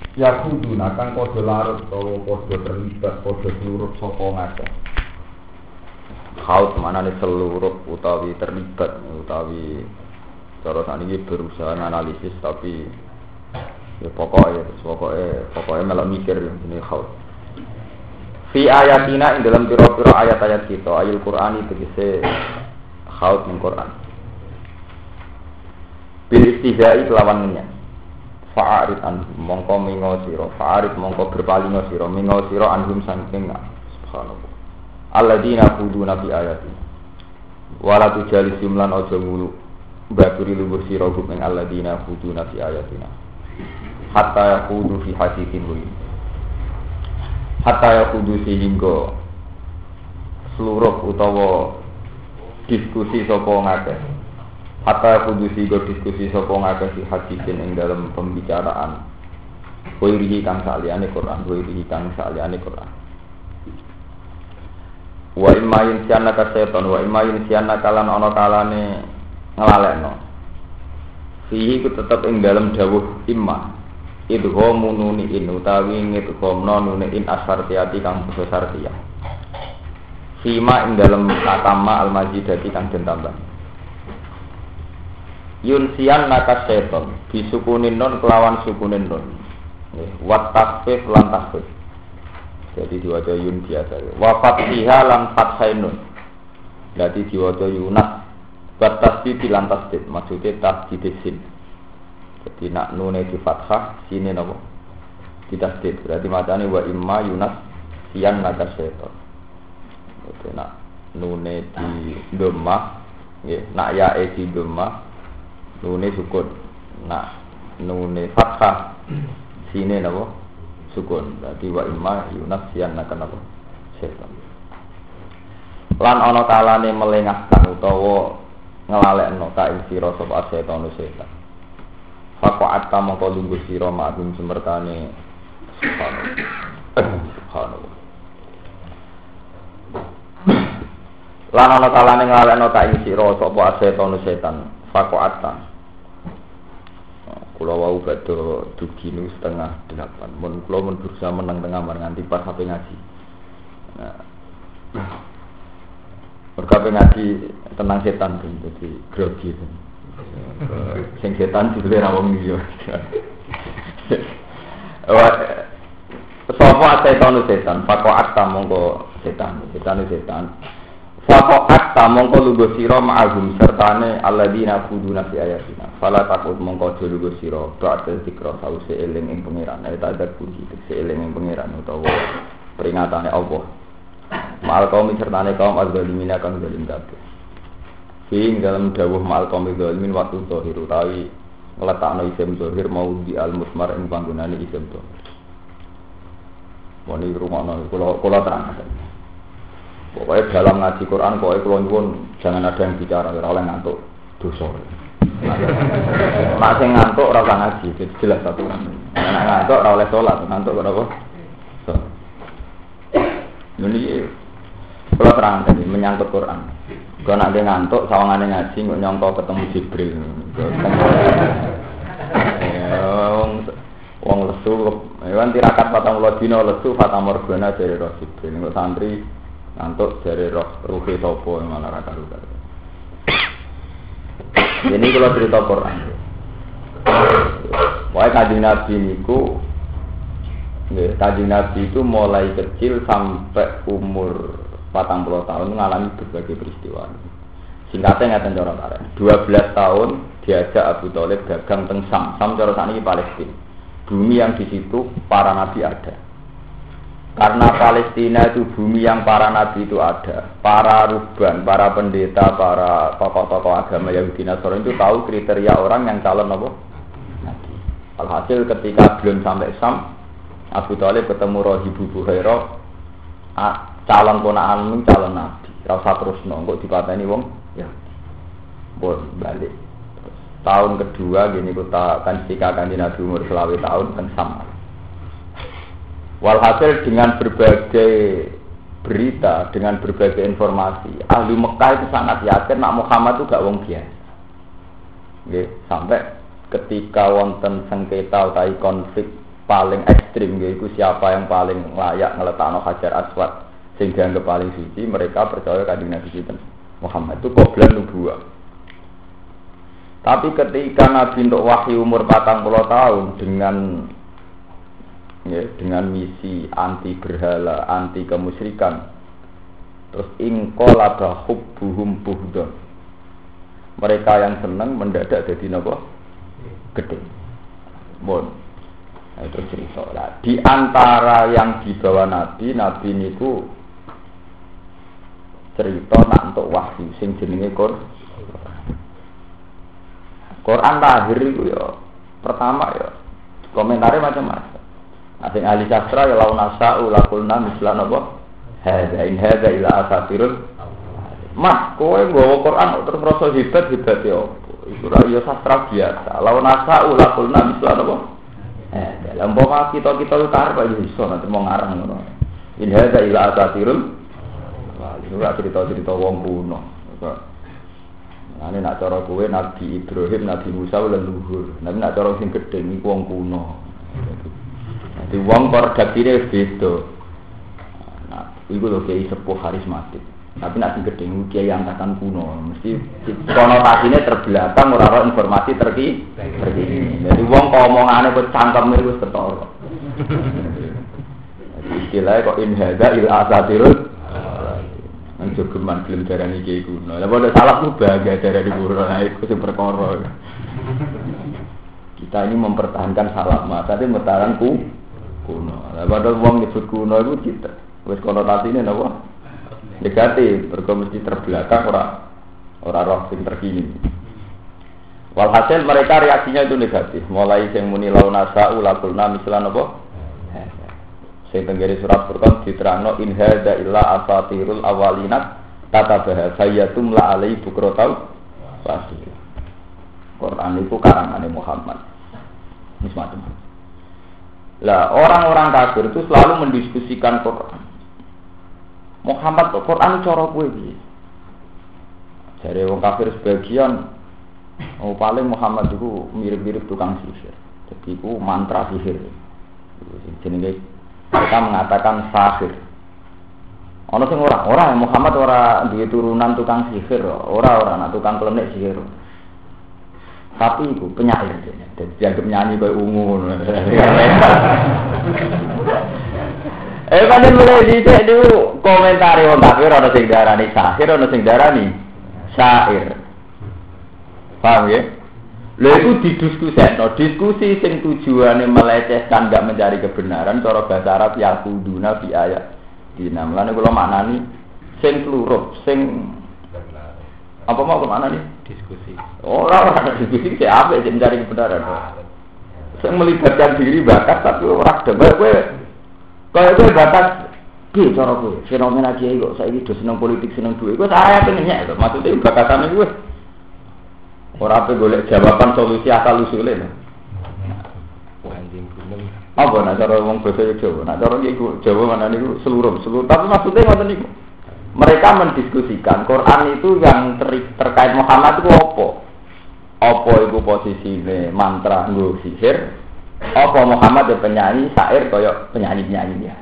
Ya kudu nakang padha larut utawa padha terlibat padha seluruh sapa ngakeh. Haut manane seluruh utawi terlibat utawi cara sakniki berusaha analisis tapi ya pokoknya melok mikir jenenge haut. Fi ayatina ing dalam pira-pira ayat-ayat kita ayat Qur'an tegese haut ning Qur'an. Bil istihza'i kelawan ngenyak. Fa'arid anhum mongko mingo sira fa'arid mongko berpalingo sira mingo sira anhum saking subhanallah alladzina khuduna bi ayati wala tujali jumlan aja ngulu baturi luwur sira hum ing alladzina khuduna bi ayatina hatta yaqudu fi haditsin wa hatta yaqudu sehingga seluruh utawa diskusi sapa ngakeh hatta kudusi go diskusi sapa ngakeh si hadisin ing dalam pembicaraan wirihi kang saliyane Quran wa imma yansiana ka setan wa imma yansiana kalan ana kalane nglalekno fihi ku tetep ing dalam dawuh imma idghamu nuni in utawi ngidghamno nuni in asartiyati kang basa sartiyah fima ing dalam katama al-majidati kang den tambah yunsian nakas seton disukunin non kelawan sukunin non wat tasfif lan tasfif jadi diwaca yun biasa wa fathiha lan fathainun jadi diwaca yunas wat tasdid lan tasdid maksudnya tasdid sin jadi nak nune di fathah sini napa di tasdid berarti macane wa imma yunas sian nakas seton jadi nak nune di dhammah nggih nak yae di dhammah nune sukun, nak nune fathah sini napa sukun. Berarti wa imma yunasiyan nakan napa setan. Lan ana kalane melengahkan utawa nglalekno ka ing sira sapa setan setan. Faqa'at mongko lungguh sira ma'dum semertane subhanallah. Lan ana kalane nglalekno ka ing sira sapa setan. Faqa'at kula wau badhe dugi nu 7:30. Mun kula mun berusaha meneng tengah mar nganti pas sampe ngaji. Berkape ngaji tentang setan dadi grogi. Sing setan dibeli ra wong liya. Sapa setan, faqa'at mongko setan. Faqa'at mongko lugo sira ma'ahum sertane alladzina khuduna fi ayatina fala takut mongko aja lugo sira ba'da zikra sause eling ing pangeran eta adat puji tekse eling ing pangeran utawa peringatane Allah ma'al kaum sertane kaum az-zalimin kang zalim kabeh ing dalam dawuh ma'al kaum zalimin waktu zahir utawi ngletakno isim zahir mau di al-musmar ing panggonane isim zahir moni rumono kula terangkan. Pokoknya dalam ngaji Quran, pokoknya kalau nyuwun jangan ada yang bicara, ora oleh ngantuk dosa. Nek sing ngantuk ora usah ngaji, jelas satu kan. Nek ngantuk ora oleh salat, ngantuk kok apa? Ini kalau terang tadi menyangkut Quran. Kalau nak dia ngantuk, sawangane ngaji nggak nyongko ketemu Jibril. Wong lesu, kan tirakat 40 dina lesu fatamorgana dari Jibril. Nggak santri ngantuk dari ruhi sopo mana raka ruka. Ini kalau cerita Quran. Wahai Kanjeng Nabi niku, Kanjeng Nabi itu mulai kecil sampai umur 40 tahun mengalami berbagai peristiwa. Singkatnya ngaten cara karen. 12 tahun diajak Abu Thalib dagang teng Sam cara sakniki Palestina. Bumi yang di situ para nabi ada. Karena Palestina itu bumi yang para nabi itu ada, para ruhban, para pendeta, para tokoh-tokoh agama Yahudi Nasrani itu tahu kriteria orang yang calon apa? Nabi. Alhasil ketika belum sampai Sam, Abu Thalib ketemu Rahibu Buhairah, calon ponakan calon nabi. Rasa terus nongko dipateni wong ya. Bon balik. Tahun kedua gini kita kan sikakan di Nabi umur 20 tahun kan sama. Walhasil dengan berbagai berita, dengan berbagai informasi, ahli Mekah itu sangat yakin nak Muhammad itu gak wong biasa. Nggih, sampai ketika wonten sengketa utawi konflik paling ekstrim yaitu siapa yang paling layak ngeletakno Hajar Aswad sehingga yang paling suci, mereka percaya Kanjeng Nabi Muhammad itu qoblan nubuwah. Tapi ketika Nabi untuk wahyu umur 40 tahun dengan misi anti berhala, anti kemusyrikan, terus ingqalaba hubbuhum buhdon. Mereka yang senang mendadak jadi napa? Gede. Bon. Nah, itu cerita lah. Di antara yang dibawa Nabi niku cerita nak untuk wahyu sing jenenge Quran lahir itu ya pertama ya komentarnya macam-macam. Asing ahli sastra ya laun asa'u lakulna mislan apa? Hadza ila asatirul. Mas, kowe nggawa Quran terus rasa hebat ya. Iku ra ya sastra biasa. Laun asa'u lakulna mislan apa? Dalam bawa kita karep aja iso nanti mau ngarang ngono. In hadza ila asatirul. Wah, itu cerita wong kuno. Nah, ini nak cara kowe Nabi Ibrahim, Nabi Musa leluhur. Tapi nak cara sing gedhe niku wong kuno. Jadi wong redaksine beda. Nah, iku lho kiai sepuh karismatik. Tapi nak sing gedhe niku kiai angkatan kuno. Mesti konotasinya terbelakang ora ana informasi terkini. Jadi wong kok omongane kok cangkeme wis ketara. Jadi istilahnya kok in hadza il asatirul Jogeman film darani kiai kuno. Lah padha salah ku bahagia darani kuno. Nah iku sing perkara. Kita ini mempertahankan salah tapi mempertahankan kuno. Lah padha wong nyebut kuno iku kita. Wis konotasine napa? Negatif, mergo mesti terbelakang ora roh sing terkini. Walhasil mereka reaksinya itu negatif. Mulai sing muni launasa ulaqulna mislan apa? Sing tenggere surat Furqan diterangno in hadza illa asatirul awwalinat tatabaha sayyatum la alai bukrotau pasti. Quran itu karangane Muhammad. Mismatum. Lah orang-orang kafir itu selalu mendiskusikan Quran. Muhammad Quran cara kowe piye? Jare wong kafir sebagian paling Muhammad itu mirip-mirip tukang sihir. Jadi itu mantra sihir. Jenenge mereka mengatakan sahir. Ono sing ora Muhammad ora duwe turunan tukang sihir, ora tukang klenik sihir. Tapi iku penyair dene. Dadi dianggap nyanyi koyo ungu. Pancen mulai dhisik niku komentari wong kafir ana sing darani sahir, ana sing darani syair. Paham ya? Lha iku didiskusikno, diskusi sing tujuane melecehkan enggak mencari kebenaran cara bahasa Arab ya kuduna fi ayat. Dina mlane kula maknani sing kluruh, sing apa mau maknani? Diskusi. Ora diskusi sing apik sing mencari kebenaran. Sing melibatkan diri bakat tapi ora demek kowe. Kaya kowe bakat piye cara kowe? Fenomena kiai kok saiki do seneng politik, seneng duit. Kowe saya pengen nyek, maksudnya bakatane kowe. Ora ape golek jawaban solusi asal usule. Anjing gunung. Apa nak cara wong basa Jawa? Nak cara iku Jawa mana niku seluruh. Tapi maksudnya ngoten niku. Mereka mendiskusikan Quran itu yang terkait Muhammad itu apa? Apa iku posisine mantra nggo sihir? Apa Muhammad itu penyanyi syair kaya penyanyi-penyanyi ya?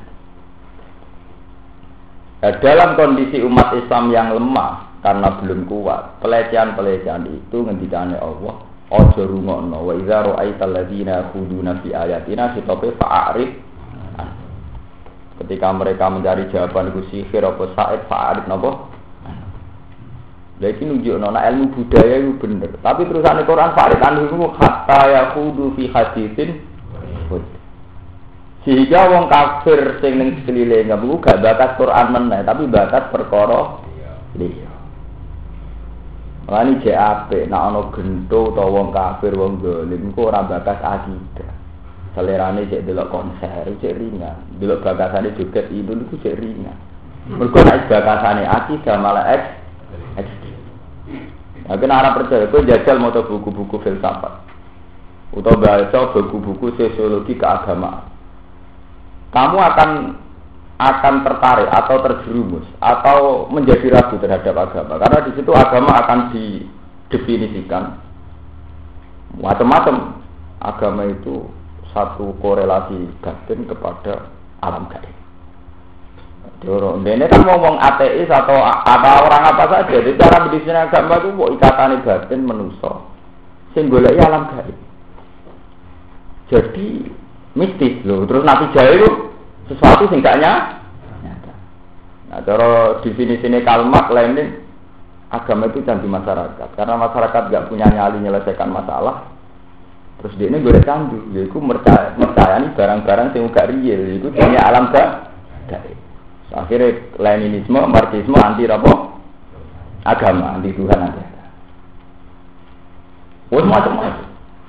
Dalam kondisi umat Islam yang lemah karena belum kuat, pelecehan-pelecehan itu ngendikane Allah, aja rungokno wa idza ra'aital ladzina khuduna fi ayatina sitope fa'arif. Ketika mereka mencari jawaban iku sihir apa sa'id fa'arif napa? Lha iki nunjukno nek ilmu budaya itu bener, tapi terusane Quran fa'arif anhu hatta yakhudu fi haditsin. Sehingga wong kafir sing ning sekeliling ngaku gak bakat Quran meneh, tapi bakat perkara liya. Lani JAP, nak ono gento atau wong kafir wong dolim, ku ora bakas akidah. Selerane cek delok konser, cek ringan. Delok bakasane joget itu niku cek ringan. Mergo nek bakasane akidah malah ekstrem. Nah, kena arah percaya, kowe jajal maca buku-buku filsafat. Utawa baca buku-buku sosiologi keagamaan. Kamu akan tertarik atau terjerumus atau menjadi ragu terhadap agama karena di situ agama akan didefinisikan macam-macam. Agama itu satu korelasi batin kepada alam gaib. Ini kan ngomong ateis atau orang apa saja. Jadi cara berdiskusi agama itu mau ikatan batin manusia. Sing goleki alam gaib. Jadi mistis loh. Terus Nabi Jaya itu sesuatu sing gak nyata. Nah, cara definisi kalimat lainnya agama itu candu masyarakat. Karena masyarakat gak punya nyali menyelesaikan masalah. Terus dia ini boleh candu. Yaitu mercayai barang-barang yang gak real. Itu punya alam gaib. Akhirnya Leninisme, Marxisme anti apa? Agama, anti Tuhan, anti agama. Macam-macam.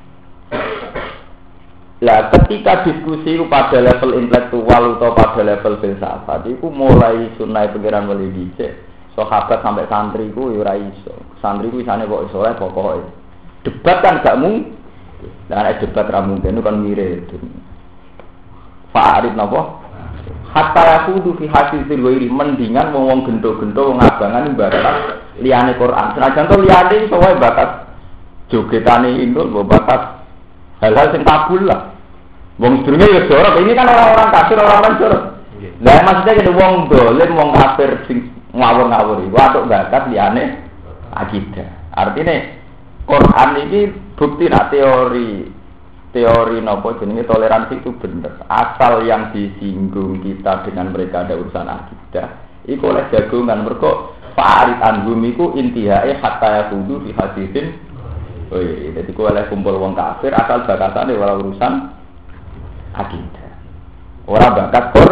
Lah ketika diskusi pada level intelektual atau pada level filsafat itu mulai sunai pengiran mulai dicek sahabat sampai santri ku ya ora iso. Santri ku isane kok iso ae pokoke. Debat kan gak mung. Lah nek debat ra mungkin itu kan mirip. Fa'arif napa? Hatta yakudu fi haditsil ghairi mendingan wong gendo-gendo wong abangan ibarat liyane Quran. Senajan to liyane iso wae bakat jogetane indul bakat hal-hal yang kabul lah. Wong sedurunge ya jorok. Ini kan orang-orang kafir, orang-orang jorok. Lah maksudnya jadi wong dolim, wong kafir sing ngawur-ngawur iku atuk bakat liyane akidah. Artinya Quran ini bukti nak teori napa jenenge toleransi itu bener. Asal yang disinggung kita dengan mereka ada urusan akidah, iku oleh jagongan mergo fa'arid anhum iku intihae hatta yaqudu fi haditsin. Oh iya, jadi ku oleh kumpul wong kafir asal bakatane ora urusan akidah. Ora bakat Qur.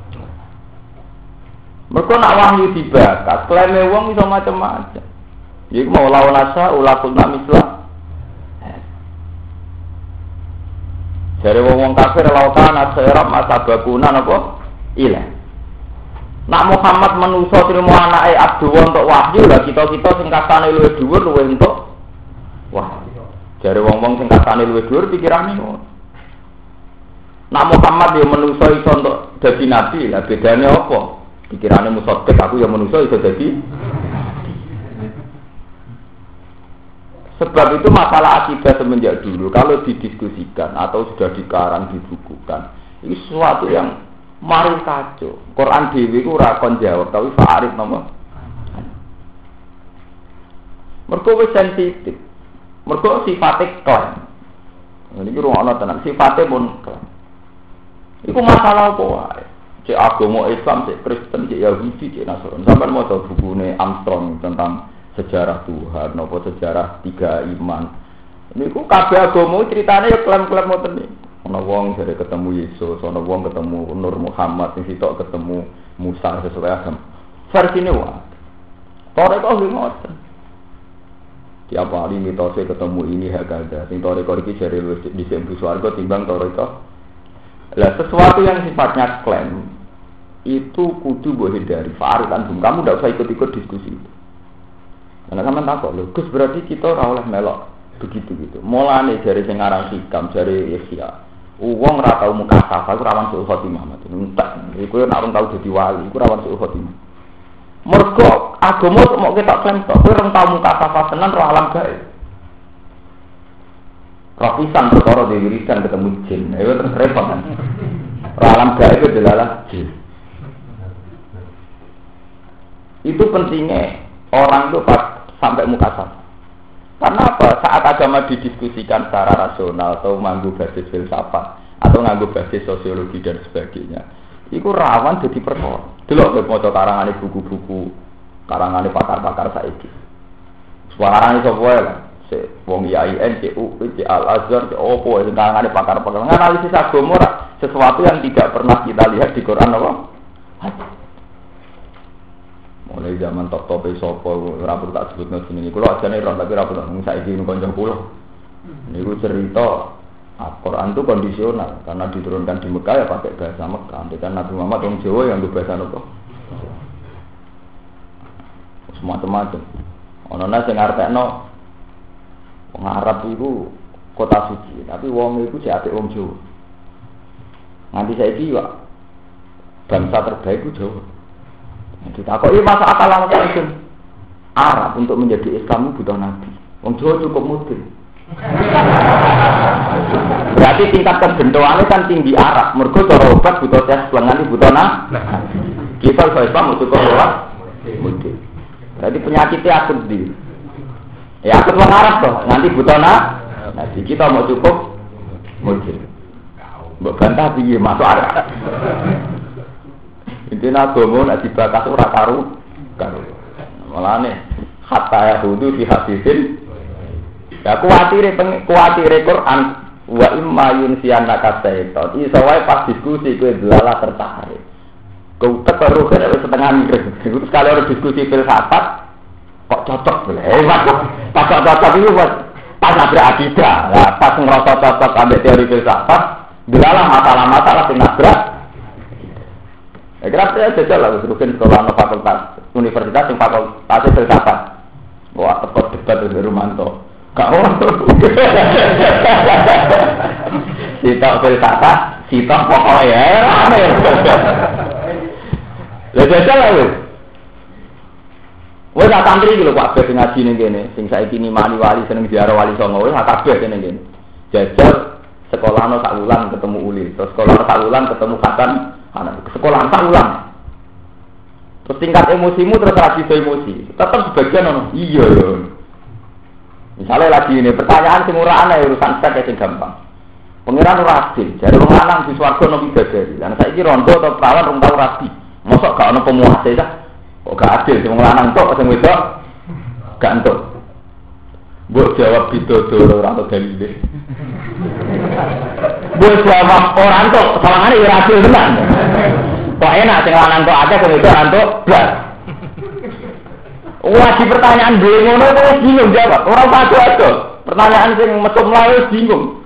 Mergo nak wahyu dibakat, klaime wong iso macam-macam. Iku mau lawan asa ulakul namislah. Jare wong kafir lautan asyrab masabakuna napa? Ilah. Nak Muhammad manusa trimo anake Abdul untuk wahyu lah kita-kita sing katane luwih dhuwur luwih entuk. Wah, jare wong-wong sing katane luwih dhuwur pikirane ngono. Nak Muhammad ya manusa iso entuk dadi nabi, lah bedane apa? Pikirane musaddiq aku ya manusa iso dadi. Sebab itu masalah akidah semenjak dulu kalau didiskusikan atau sudah dikarang dibukukan, ini sesuatu yang mari kacau. Quran dhewe iku ora kon jawab, tapi fa'arif napa? Mergo wis sensitif. Mergo sifate klaim. Niki ruangana tenan, sifate pun klaim. Iku masalah apa wae? Cek agama Islam, cek Kristen, cek Yahudi, cek Nasrani. Sampeyan maca bukune Armstrong tentang sejarah Tuhan, nopo sejarah tiga iman. Niku kabeh agama ceritane ya klaim-klaim ngoten iki. Ana wong jare ketemu Yesus, ana wong ketemu Nur Muhammad, sing sitok ketemu Musa sesuai agama. Versine wae. Toreko ngoten. Tiap hari mitose ketemu ini hakada. Sing toreko iki jare wis dhisik mlebu swarga timbang toreko. Lah sesuatu yang sifatnya klaim itu kudu mbok hindari. Fa'aritan kamu ndak usah ikut-ikut diskusi itu. Karena sampean takok lho, Gus berarti kita ora oleh melok begitu gitu. Mulane jare sing aran hikam, jare Ihya. Wong ora tau mukasafah iku rawan suul khotimah mate. Entek. Iku nek ora tau dadi wali, iku rawan suul khotimah. Mergo agama mok ketok klaim tok, kowe ora tau mukasafah tenan ro alam gaib. Rapisan perkara dhewe wiridan ketemu jin. Ayo terus repot kan. Ro alam gaib itu adalah jin. Itu pentingnya orang itu sampai mukasafah. Karena apa? Saat agama didiskusikan secara rasional atau nganggo basis filsafat atau nganggo basis sosiologi dan sebagainya, itu rawan jadi perkara. Delok maca karangane buku-buku, karangane pakar-pakar saiki. Suarane sapa wae lah. Wong IAIN, CU, Al Azhar, opo sing karangane pakar-pakar. Analisis agama sesuatu yang tidak pernah kita lihat di Quran apa? Mulai zaman top-top sapa ora perlu tak sebutno jenenge. Kula ajane ora tapi ora perlu saiki kanca kula. Niku cerita Al-Qur'an itu kondisional karena diturunkan di Mekah ya pakai bahasa Mekah. Kan Nabi Muhammad orang Jawa yang bahasa apa? Semacam-macam. Ono nang sing ngarepno wong Arab iku kota suci, tapi wong iku jek apik wong Jawa. Nganti saiki yo bangsa terbaik ku Jawa. Ditakoki masa akal langsung Arab untuk menjadi Islam butuh nabi. Wong Jawa cukup mudin. Berarti tingkat kebentoane kan tinggi Arab. Mergo cara obat butuh tes lengan butuh nah. Kita Islam cukup lewat mudi. Berarti penyakitnya akut di. Ya akut wong Arab toh, nanti butuh nah. Nanti kita mau cukup mudi. Mbok bantah piye masuk Arab. Intinya agama nek dibakas ora karo. Malane hatta yahudu fi hadisin. Ya kuwatire Quran wa imma yunsiyanna kasaiton. Iso wae pas diskusi kowe delalah tertarik. Kau terus kan setengah mikir. Itu sekali orang diskusi filsafat kok cocok boleh. Pas cocok itu pas nabrak akidah. Lah pas ngerasa cocok ambil teori filsafat, delalah masalah-masalah sing nabrak. Kira saya jajal lah rugen sekolah fakultas universitas yang fakultas filsafat. Wah, tekot debat dari Rumanto. Gak ono. Sitok filsafat, sitok pokoknya ya. Lah jajal lah wis. Wis tak santri iki lho Pak Bes ngaji ning kene, sing saiki nimani wali seneng ziarah wali songo wis kabeh kene kene. Jajal sekolahno sak wulan ketemu uli, terus sekolahno sak wulan ketemu katan, sekolah sak wulan. Terus tingkat emosimu terus lagi emosi. Tetap sebagian ono. Iya ya. Misalnya lagi ini pertanyaan sing ora ana urusan sek sing gampang. Pengiran ora adil, jare wong lanang di swarga ono bidadari. Lah saiki rondo atau perawan rong tau rabi. Mosok gak ono pemuase ta? Kok gak adil sing lanang tok sing wedok gak entuk. Mbok jawab bidodoro ora ono dalile. Mbok jawab ora entuk, salahane ora adil tenan. Kok enak sing lanang tok akeh sing wedok entuk blas. Wah, di pertanyaan dhewe ngono wis bingung jawab. Ora padu-padu. Pertanyaan sing mesum lae bingung.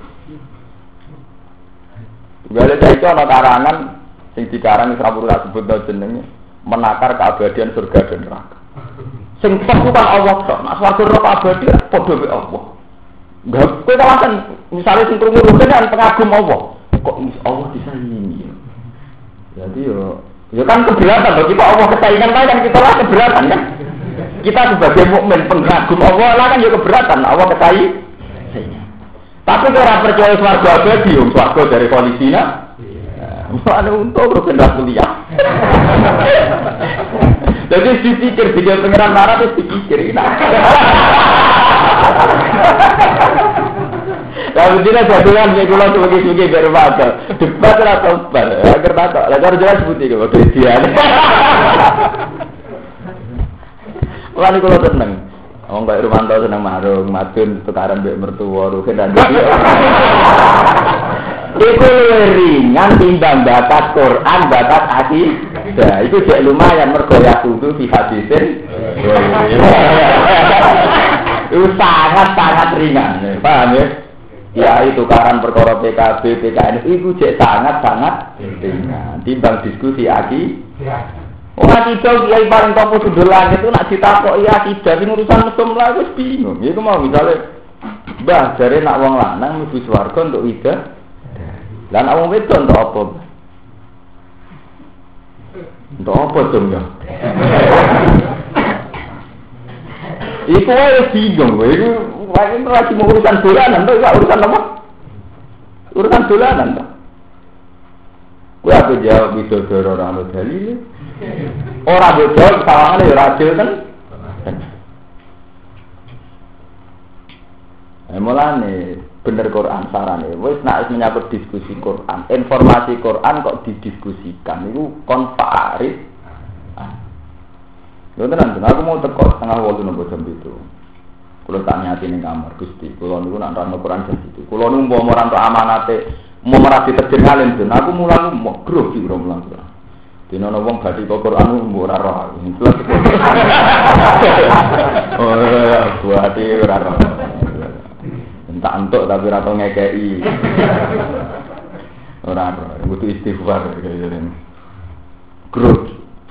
Gale saiki ana karangan sing dikarang Srawura sebut jenenge menakar keabadian surga dan neraka. Sing tok kan Allah tok, nek swarga neraka abadi padha mek Allah. Enggak kowe kan misale sing krungu kan pengagum Allah. Kok Allah bisa ini? Jadi yo kan keberatan bagi Pak Allah kesaingan kan kita lah keberatan kan. Kita sebagai mukmin pengagum Allah lah kan yo keberatan Allah kesaingan. Tapi kalau percaya swarga abadi, swarga dari Palestina. Mana untuk berkendak kuliah. Jadi dipikir video pengiran marah terus dipikir. Lalu tidak jadulan sekolah sebagai baru baca. Debat atau bar. Agar baca. Lalu jelas putih kalau Christian. Lalu kalau tenang. Wong kaya Rumanto seneng marung, madun tukaran mbek mertua, rugen dan iki. Iku ringan timbang batas Quran, batas hadis. Nah, itu cek lumayan mergo ya kudu fi hadisin. Itu sangat ringan, paham ya? Ya itu tukaran perkara PKB, PKN itu cek sangat ringan timbang diskusi akidah. Ora kita kiai paling topo sundulan itu nak ditakoki akidah sing urusan mesum lah wis bingung. Iku mau misale Mbah jare nak wong lanang mlebu swarga untuk ida. Lah nak wong wedok untuk apa? Untuk apa dong ya? Iku wae bingung kowe. Iku wae lagi mau urusan dolanan to, urusan apa? Urusan dolanan to. Kowe aku jawab bidodoro ora ono dalile. Ora bodho sawangane ya adil kan. Mulane bener Quran sarane wis nek menyangkut diskusi Quran, informasi Quran kok didiskusikan niku kon farid. Lho tenan aku mau teko setengah 8 nang jam itu. Kulo tak nyati ning kamar Gusti, kulo niku nak nerangno Quran jam itu. Kulo niku mau ora entuk amanate, mau merati terjenalen den. Aku mulang mau grogi ora mulang. Dino wong badhe kok Quran mbok ora roh. Oh ya, buati ora roh. Entak entuk tapi ora tau ngekeki. Ora roh, butuh istighfar kaya ngene. Grut.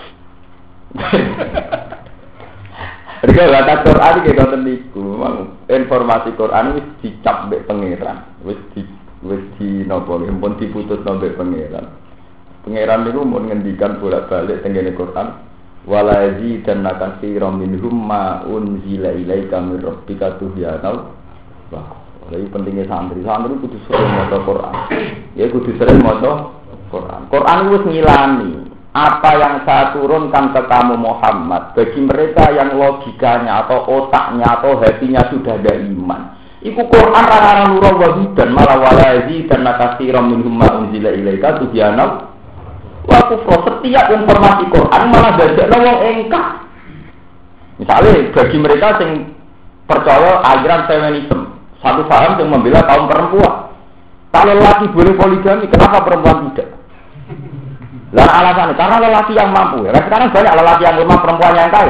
Rika batas Quran iki konten niku, informasi Quran wis dicap mbek pangeran. Wis di napa pun diputus mbek pangeran. Pangeran niku mun ngendikan bolak-balik teng ngene Quran, walazi dan nakasiram minhum ma unzila ilaika mir rabbika tuhyana. Lagi pentingnya santri kudu sering maca Quran. Ya kudu sering maca Quran. Quran wis ngilani apa yang saya turunkan ke kamu Muhammad bagi mereka yang logikanya atau otaknya atau hatinya sudah ada iman. Iku Quran rara nurul wa hudan malah walazi dan katsiran minhum ma unzila ilaika tubyana wa kufra. Setiap informasi Quran malah dadekno wong engkang. Misalnya bagi mereka yang percaya aliran feminisme, satu paham yang membela kaum perempuan. Kalau lelaki boleh poligami, kenapa perempuan tidak? Dan alasannya karena lelaki yang mampu. Ya, sekarang banyak lelaki yang lemah, perempuan yang kaya.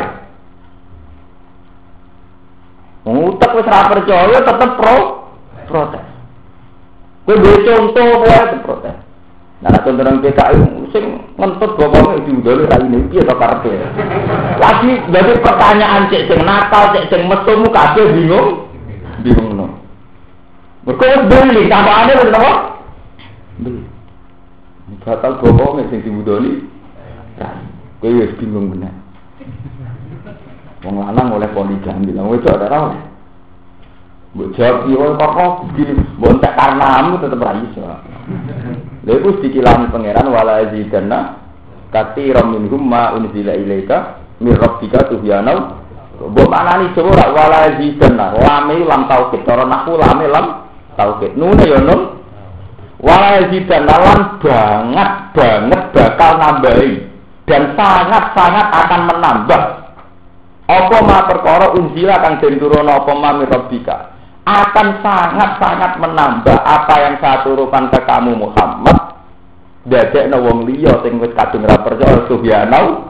Ngutek wis ra percaya tetep protes. Kowe duwe contoh wae protes. Nah, contoh nang PKI sing ngentut bapaknya diundang raine piye to karepe. Lagi dadi pertanyaan cek sing nakal, cek sing mesumu kabeh bingung no. Mergo beli tambaane wis napa? Beli. Batal bapaknya sing diundoni. Kowe wis bingung bener. Wong lanang oleh poligami, lha wedok ora ora. Mbok jawab yo kok begini, mbok tak karenamu tetep ra iso. Lha iku dikilani pangeran wala zidanna katsiran minhum ma unzila ilaika mir rabbika tuhyana. Mbok manani Jawa ora wala zidanna, lame lam tauhid, cara nahwu lame lam tauhid. Nune yo nun. Wala zidanna lan banget bakal nambahi dan sangat akan menambah. Apa ma perkara unzila kang den turun apa ma mirabbika akan sangat menambah apa yang saya turunkan ke kamu Muhammad dadekno wong liya sing wis kadung ra percaya subhanallah.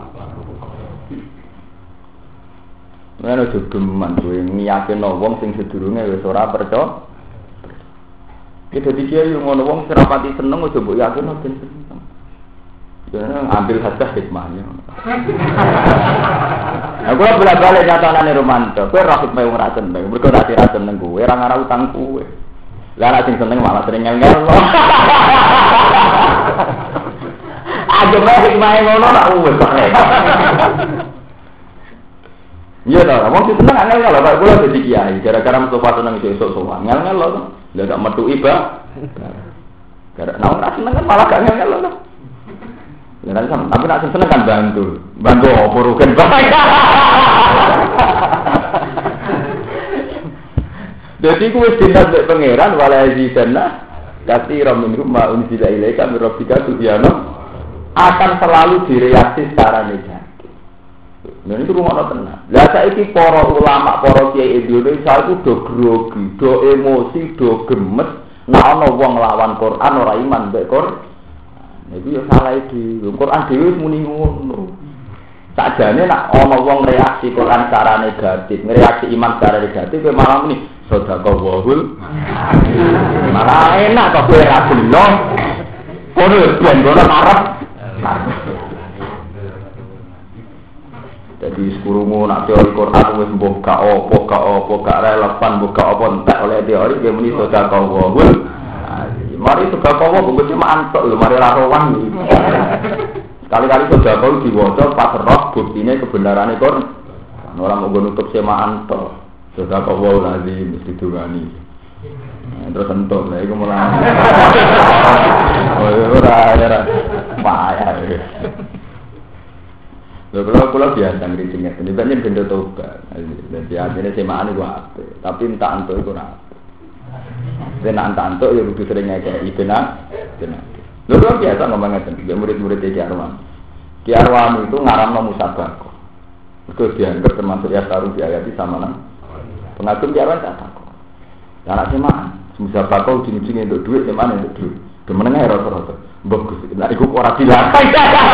Menawa jogeman kowe ngiyakino wong sing sedurunge wis ora percaya. Kita dikira yo ngono wong sing rapati seneng aja mbok yakino ben seneng. Jangan ambil hasil hikmahnya. Aku bolak-balik nyatanane Romanto. Kowe ra hikmah wong ra seneng, mergo ra seneng kowe, ora ngara utang kowe. Lah nek sing seneng malah sering ngel-ngel. Aja mah hikmah ngono ra uwes kok. Iya ta, wong sing seneng ngel-ngel lho, kok kula dadi kiai, gara-gara Mustafa seneng esuk sowan. Ngel-ngel lho. Lah gak metu iba. Gara-gara ora seneng kan malah gak ngel-ngel lho. Ya, tapi nak seneng kan bantu apa rugen baik. Jadi kuwi dinas mek pangeran wala zidana katsiran minhum ma unzila ilaika mir rabbika tubyana akan selalu direaksi secara negatif. Nah itu rumah tenang. Lah saiki para ulama, para kiai Indonesia itu do grogi, do emosi, do gemes nek ana wong lawan Quran ora iman mbek Quran. Itu ya salah iki. Quran dhewe wis muni ngono. Sakjane nek ana wong reaksi Quran secara negatif, reaksi iman secara negatif kowe malah muni sedekah wahul. Malah enak kok kowe ra beno. Kono ben kono arep. Jadi sekurungu nak teori Quran wis mbok gak relevan, mbok gak apa entek oleh teori dia muni sedekah wahul. Mari sudah kau mau cuma antok lho, mari rawan nih. Kali-kali sudah kau diwaca pas roh buktinya kebenaran itu. Orang mau nutup sema antok, sudah kau mau lagi mesti dungani. Terus entuk, lah itu mulai. Ora, payah. Kalau biasa ngirincingnya, ini banyak benda tobat. Jadi artinya semaan itu apa? Tapi minta antok itu apa? Benar antuk ya lebih sering ngekei benar. Lalu biasa ngomongnya tentang murid-murid Ki Arwan. Ki Arwan itu ngaramno musabaqah. Itu dianggap termasuk ya taruh di ayat sama nang. Pengagum Ki Arwan tak takut. Anak semaan musabaqah ujung-ujungnya untuk duit, semaan untuk duit. Kemenengah rata-rata. Bagus. Nah iku ora dilakai.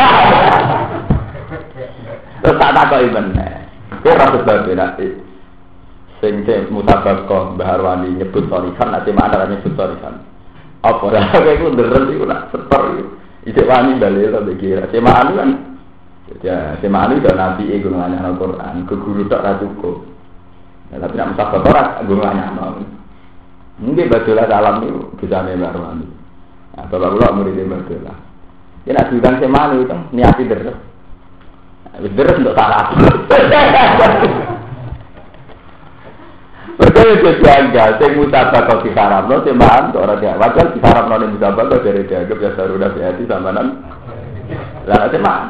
Terus tak takut bener. Kowe ora sebab nanti. Sing musabaqah Mbah Arwani nyebut sorikan, nanti mana nyebut sorikan. Apa lah, aku nderen itu nak setor itu. Ijek wani dalil atau dikira. Semaan kan, ya semaan itu nabi gunungannya Al-Quran, ke guru tak cukup. Tapi nak musabaqah gunungannya Al. Mungkin bajulah dalam itu bisa Mbah Arwani. Nah, bapak pula muridnya bajulah. Dia nak bilang semaan itu niati deres. Deres untuk taraf. Berarti itu janggal, sing mutabak kok diharapno semahan kok ora dia. Wajar diharapno ning mutabak kok dari dianggap ya sarudah hati samanan. Lah semahan.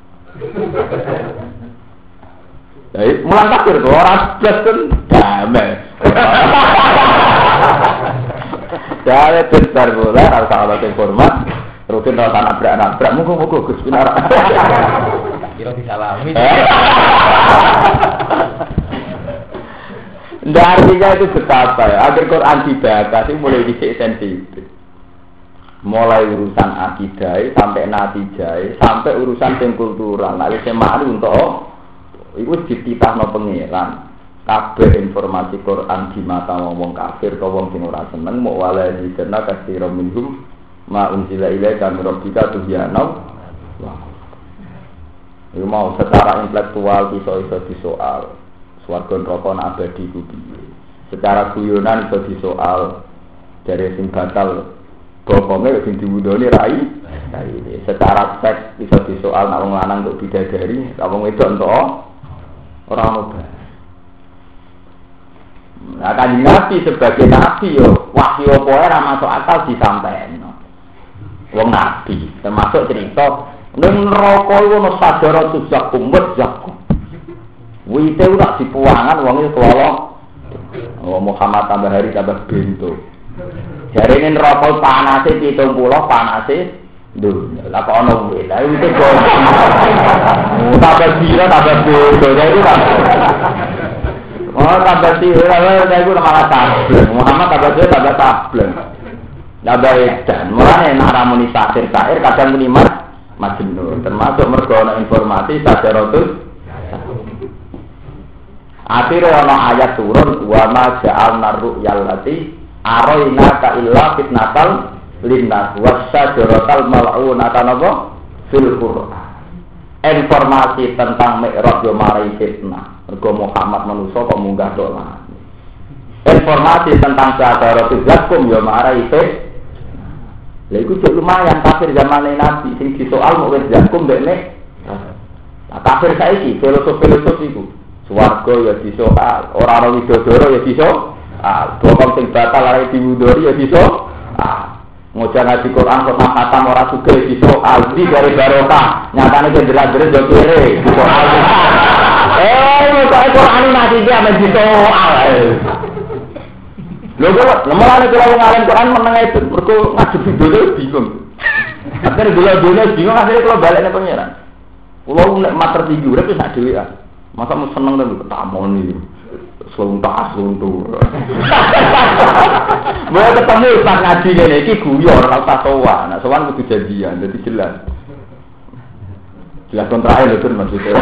Jadi mulang kafir kok ora blas kan damai. Ya bentar bola harus sahabat yang hormat. Rutin rasa nabrak. Muga-muga Gus Pinar. Kira disalami. Ndak artinya itu betapa ya. Agar Quran dibaca sih mulai dhisik sensitif. Mulai urusan akidah sampai natijah sampai urusan sing kultural. Nek wis malu untuk iku dititahno pangeran. Kabeh informasi Quran di mata wong kafir atau wong sing ora seneng mau wala dikena kasira minhum ma unzila ilaika min rabbika tuhyana. Iku mau secara intelektual iso disoal. Swarga neraka abadi ku piye. Secara guyonan iso disoal dari sing batal bokonge sing diwudoni rai. Secara seks iso disoal nek wong lanang kok bidadari, nek wong wedok entuk ora ono. Nah, Kanjeng Nabi sebagai Nabi yo wahyu apa ora masuk akal disampaikno. Wong Nabi termasuk cerita ning neraka iku ono sadara tuzakum zakum. Wite ora dipuangan wong iku kelolo. Oh Muhammad tambah hari tambah bento. Jarene neraka panase 70 panase dunya. Lah kok ono wite. Lah wite kok. Tambah dira tambah bento. Jadi kan oh, tambah sih, saya itu malah tableng. Muhammad tambah tableng. Tambah edan. Mulane nek ramuni syair kadang muni majnun. Termasuk mergo ana informasi sajaratus. Akhire ana ayat turun wa ma ja'alna ru'yal lati araina ka illa fitnatal linnas wasyajaratal mal'unata napa fil Qur'an. Informasi tentang Mi'raj yo marai fitnah. Mergo Muhammad manusia kok munggah dolan. Informasi tentang Syahadatul Zakum ya marai itu. Lha iku jek lumayan kafir zaman Nabi sing disoal mau wis Zakum dekne. Nah, kafir saiki filosof iku. Swarga ya disoal, ora ana widodoro ya disoal. Bokong sing batal arek diwudori ya disoal. Ngoceh ngaji Quran kok khatam ora sugih disoal di dari barokah. Nyatane jelas-jelas yo kere disoal. Kok Quran masih dia disoal. Lho kok lemane kalau ngalim Quran meneng itu mergo ngadep video bingung. Akhire dulu bingung akhire kalau balik nang pangeran. Kulo nek mater tinggi urip wis sak dhewean. Masa mau seneng nang ketamon iki. Suntas untuk. Mau ketemu pas ngaji ngene iki guyon ora usah sowan. Nek sowan kudu janjian dadi jelas. Jelas kontrae lho maksudnya.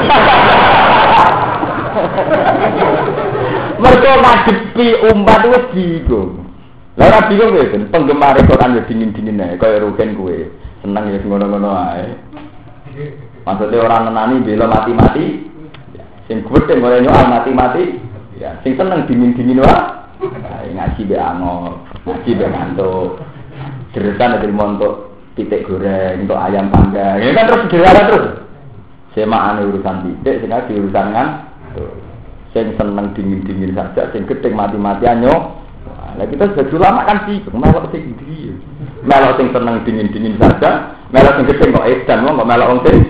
Mergo ngadepi umat wis bingung. Lah ora bingung ya, penggemar Quran ya dingin-dingin ae kaya rugen kowe. Seneng ya ngono-ngono ae. Maksudnya orang nenani bela mati-mati. Sing gedhe ora nyoal mati-mati. Ya, sing seneng dingin-dingin wae. Ngaji be angor, ngaji be ngantuk. Deretan dari montok pitik goreng, untuk ayam panggang. Ini kan terus dirara terus. Semaane urusan pitik, sing di urusan kan. Sing seneng dingin-dingin saja, sing gedhe mati-matian yo. Lah kita sudah ulama kan sih, melok sing ndi. Melok sing seneng dingin-dingin saja, melok sing gedhe kok edan wong kok melok wong sing.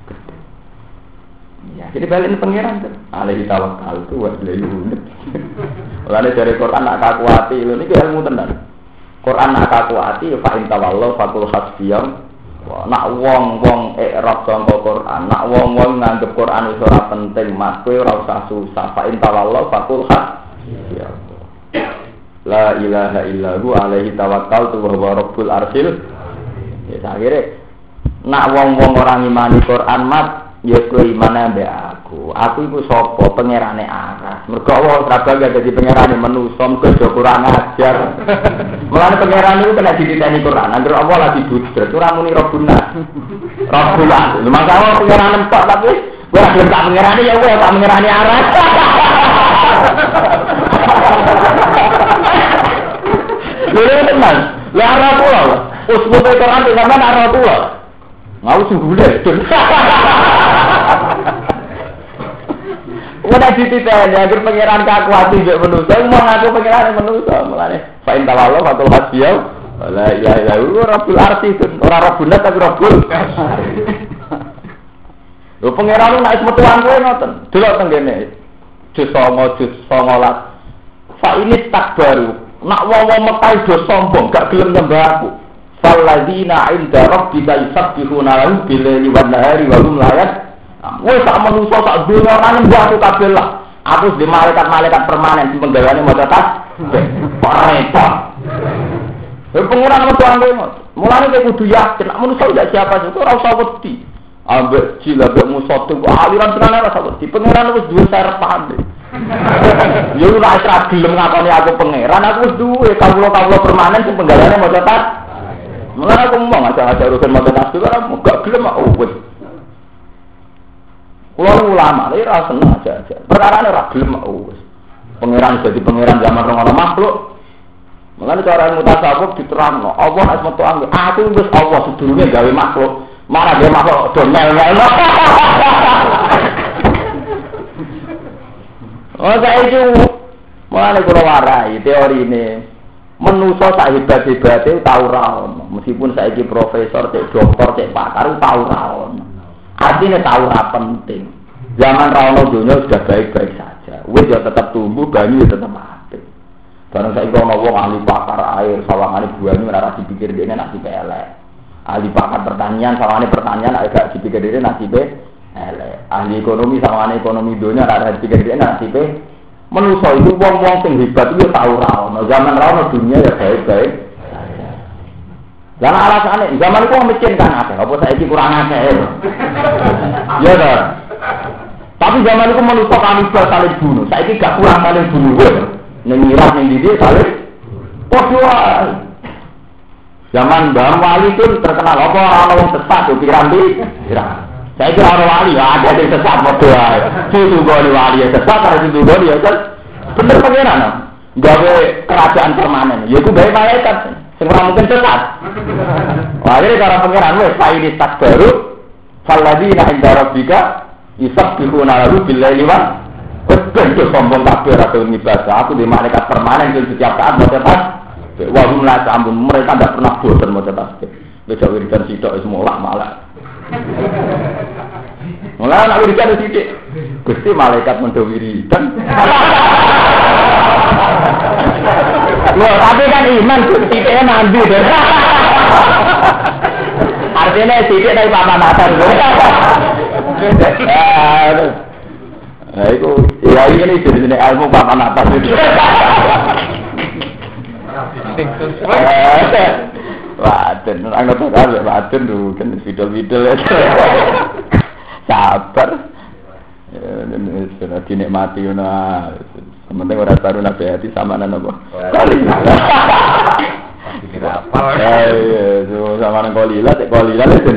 Ya, jadi balik pengiran kan. Alaihi tawakkal tu wa ilaihi unib. Oleh dari Quran nak kakuati lho niki ilmu tenan. Quran nak kakuati fa in tawallahu faqul hasbiyam. Nak wong-wong i'rab sangka Quran, nak wong-wong nganggep Quran wis ora penting, mas kowe ora usah susah. Fa in tawallahu faqul hasbiyam. La ilaha illahu alaihi tawakkaltu wa huwa rabbul arsyil. Ya akhire nak wong-wong ora ngimani Quran mat ya kowe imane ambek aku. Aku iku sapa? Pangerane aras. Mergo Allah ora bangga dadi pangerane manusa, mergo kurang ajar. Mulane pangeran iku kena dititeni Quran. Anggere Allah lagi budret, ora muni Rabbuna. Rabbuna. Maka Allah pangeran empok tapi ora gelem tak pangerane ya kowe tak pangerane aras. Lha tenan. Lah ora kula. Usbute Quran sampean ora kula. Ngau sungguh deh. Ora dititeni agar pangeran kakuati mbek manusa, mau ngaku pangeran manusa, mulane fa in tawallo fatul hasbiya. La ilaha illallah rabbul arsi, ora rabbuna tapi rabbul. Lho pangeran nek metuan kowe ngoten. Delok teng kene. Jus 9 jus 19. Fa ini takbaru. Nak wong-wong Mekah do sombong, gak gelem nyembah aku. Falladzina 'inda rabbika yusabbihuna lahu bil-laili wan-nahari wa hum la wis sak manusa sak donya ora nyembah aku kabeh lah. Aku di malaikat-malaikat permanen sing penggaweane maca tas. Repot. Pengiran metuan kowe. Mulane kowe kudu yakin nek manusa ndak siapa juga ora usah wedi. Ambek jila ambek musuh tu aliran tenan ora usah wedi. Pengiran wis duwe sarepan. Ya ora usah gelem ngakoni aku pengiran, aku wis duwe kawula-kawula permanen sing penggaweane maca tas. Mulane aku ngomong aja urusan maca tas ora gak gelem aku wis. Kulo ulama, lha ora seneng aja. Perkarane ora gelem wis. Pangeran dadi pangeran zaman orang makhluk. Mulane cara mutasawuf diterangno, Allah nek metu aku wis Allah sedurunge gawe makhluk. Marah gawe makhluk do mel-melno. Oh saiki mulane kulo warai teorine manusa sak hebat-hebate tau ora ono. Meskipun saiki profesor, cek dokter, cek pakar tau ora ono. Artinya tahu ora penting. Zaman rawono dunia sudah baik-baik saja. Wis ya tetap tumbuh, banyu ya tetap mati. Barang saiki ana wong ahli pakar air, sawangane banyu ora dipikir dene nasib elek. Ahli pakar pertanian, sawangane pertanian agak dipikir dene nasib elek. Ahli ekonomi sawangane ekonomi dunia ora dipikir dene nasib manusa itu wong-wong sing hebat itu tahu rawono. Zaman rawono dunia ya baik-baik. Jangan alasannya, zaman itu miskin kan akeh, apa saiki kurang akeh. Ya dah. Tapi zaman itu manusia kanibal saling bunuh. Saiki gak kurang saling bunuh. Ning Irak ning ndi saling padha. Zaman Mbah Wali itu terkenal apa ana wong sesat yo piramid. Saiki ora wali, ada sing sesat padha wae. Ditunggu wali sesat karo ditunggu ya kan. Bener pangeran. Gawe kerajaan permanen. Ya iku gawe malaikat. Ora mungkin sesat. Wah, ini cara pangeran wis saiki tak baru falladzina 'inda rabbika yusabbihuna lahu bil-laili wan betul sombong kabeh ora tau ngibadah. Aku di malaikat permanen di setiap saat maca tas. Wa hum la ta'mun, mereka tidak pernah bosan maca tasbih. Wis wiridan sitok wis molak-malak. Mulai nak wiridan sithik. Gusti malaikat mendo wiridan. Loh, tapi kan iman titiknya nanti deh. Artinya titik dari papan atas. Nah itu, ya ini jenis ilmu papan atas itu. Waden, anggap saja waden dulu kan video-video itu. Sabar. Sudah dinikmati nah. Sementing orang baru nabi hati sama nana apa? Kolila. Sama nana kolila, cek kolila lesen.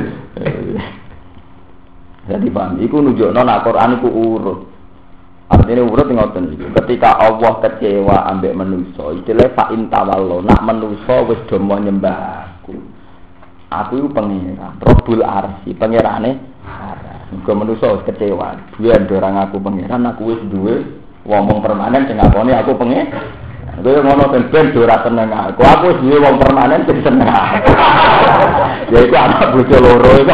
Jadi paham, iku nunjukno nak Quran iku urut. Artinya urut ngoten iki. Ketika Allah kecewa ambek manusa, istilah fa in tawallo, nak manusa wis do nyembah aku. Aku iku pangeran, Rabbul Arsy, pangerane. Muga manusa wis kecewa. Duwe ora ngaku pangeran, aku wis duwe wong permanen sing ngakoni aku pengen. Kowe ngono ben ora seneng aku. Aku wis duwe wong permanen sing seneng aku. Ya iku anak bojo loro iku.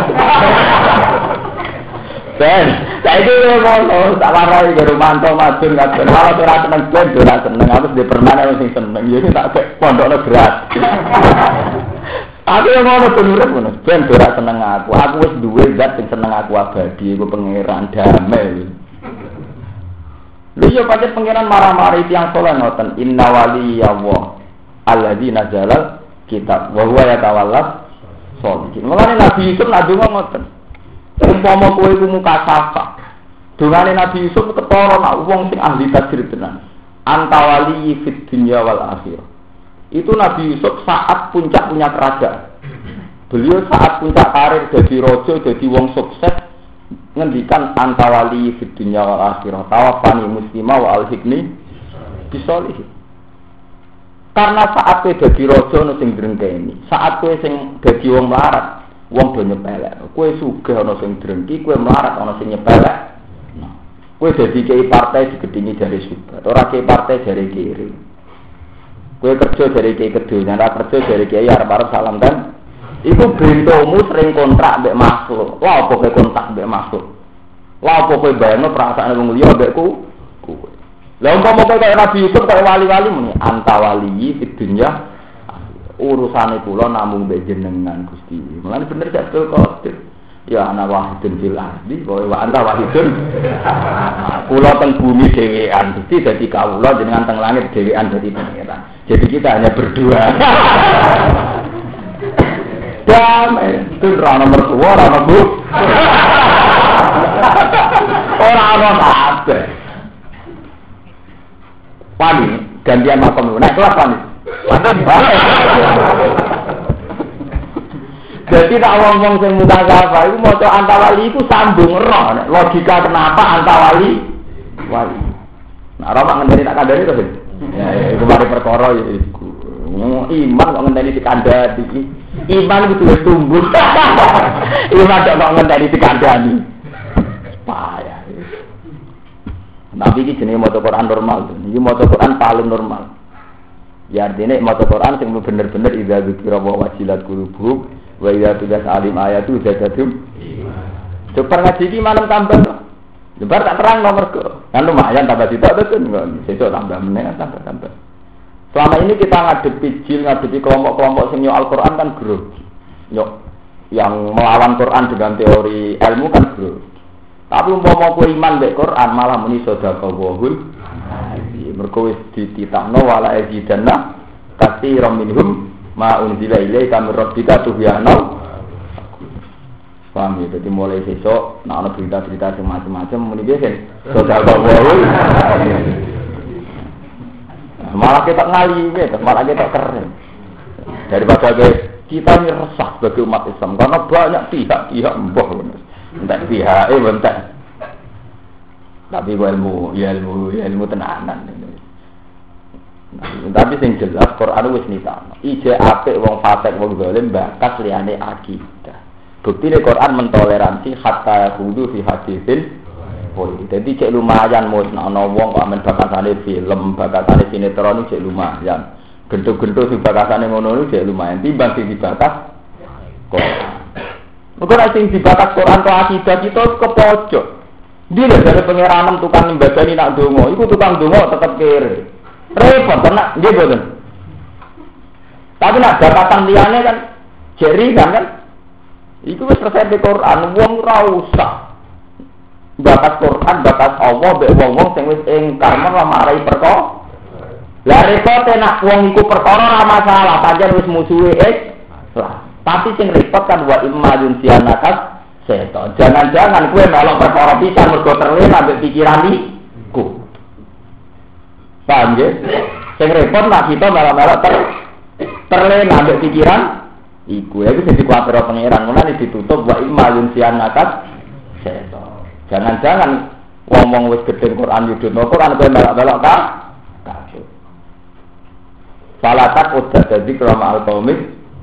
Ben, saiki ngono, tak warai karo mantu madun kabeh. Kalau ora seneng ben ora seneng, aku duwe permanen sing seneng. Ya iki tak pondokno gratis. Aku ngono bener ngono. Ben ora seneng aku. Aku wis duwe zat sing seneng aku abadi, iku pangeran damai. Lha yo pancen pangeran marah-marah tiyang saleh ngoten inna waliyallah alladzi nazala kitab wa huwa yatawallas sholihin. Mulane Nabi Yusuf nadonga ngoten. Umpama kowe iku muka sapa. Dongane Nabi Yusuf ketara nak wong sing ahli tafsir tenan. Antawali fid dunya wal akhirah. Itu Nabi Yusuf saat puncak-punya kerajaan. Beliau saat puncak karir jadi raja, jadi wong sukses. Ngendikan antawali fid dunya wal akhirah tawafani muslimah wa alhikni bisolihin. Karena saat kowe dadi raja ono sing drengkeni, saat kowe sing dadi wong melarat, wong do nyepelek. Kowe sugih ono sing drengki, kowe melarat ono sing nyepelek. Nah, Kowe dadi kiai partai digedingi jare Subhat, ora kiai partai jare kiri. Kowe kerja jare kiai kedonya, ora kerja jare kiai arep-arep salam kan. Iku bentomu sering kontrak mbek makhluk. Lha apa kowe kontrak mbek makhluk? Lha apa kowe bayangno perasaane wong liya mbek kowe? Lah umpama kowe kaya Nabi Yusuf kaya wali-wali muni antawali fid dunya urusane kula namung mbek jenengan Gusti. Mulane bener Abdul Qadir. Ya ana wahidun fil ardi wa anta wahidun. Kula teng bumi dhewean, Gusti dadi kawula jenengan teng langit dhewean dadi pangeran. Jadi kita hanya berdua. Damai, itu rana mertua, rana bu. Orang-orang apa? Wani, gantian makam lu. Naik kelas Wani. Jadi tak ngomong sing mutasyafa iku maca antawali iku sambung roh. Logika kenapa antawali wali. Nah, ora mak ngenteni tak kandhani to, ya iku mari perkara ya iku. Iman kok ngenteni dikandhani. Iman itu tumbuh. Iman kok ngenteni dikandhani. Payah. Tapi iki jenenge maca Quran normal. Iki maca Quran paling normal. Ya artinya maca Quran sing bener-bener idza dzikra wa wajilat qulubuhum wa idza tudas alim ayatu zadatum. Coba ngaji iki malam tambah. Lebar tak terang nomor ke. Kan lumayan tambah sitok to kan. Sesuk tambah meneh tambah. Selama ini kita ngadepi jil, ngadepi kelompok-kelompok sing Al-Qur'an kan grogi. Yang melawan Quran dengan teori ilmu kan grogi. Tapi umpama kowe iman mek Quran malah muni sedekah wahul. Mergo wis dititahno wala ajidanna katsiran minhum ma unzila ilaika min rabbika tuhyana. Paham ya, jadi mulai besok nek ana berita-berita sing macam-macam muni biasa sedekah wahul. Malah kita ngali gitu, malah kita keren. Daripada kita ini resah sebagai umat Islam karena banyak pihak mbah. Entek pihake entek. Tapi ilmu tenanan. Tapi sing jelas Quran wis nitano. Ije apik wong fasik wong zalim bakas liyane akidah. Buktine Quran mentoleransi hatta yahudu fi hadisin. Jadi cek lumayan mus ana wong kok amen bakasane film, bakasane sinetron cek lumayan. Gentuk-gentuk sing bakasane ngono cek lumayan timbang sing dibakas Quran. Mengko nek sing dibakas Quran kok akidah kita kepojok. Dia dari pengiranan tukang mbadani nak dongo, iku tukang dongo tetep kere. Repot tenan, nggih boten. Tapi nak bakatan liyane kan jeri kan. Iku wis resep Quran, wong ora usah. Bakat Quran, bakat Allah mbek wong-wong sing wis ingkar malah marai perkara. Lah repote nak wong iku perkara ora masalah, pancen wis musuhe lah. Tapi sing repot kan wa imma yunsianakas setan. Jangan-jangan kowe melok perkara pisan mergo terlena ambek pikiran iku. Paham nggih? Sing repot nak kita melok terlena ambek pikiran iku. Ya iku sing dikuwatir pangeran, mulane ditutup wa imma yunsianakas setan. Jangan-jangan wong-wong wis gedhe Quran yudhno Quran kowe melok-melok ta? Kabeh. Salatak udah dadi krama al-qaumit.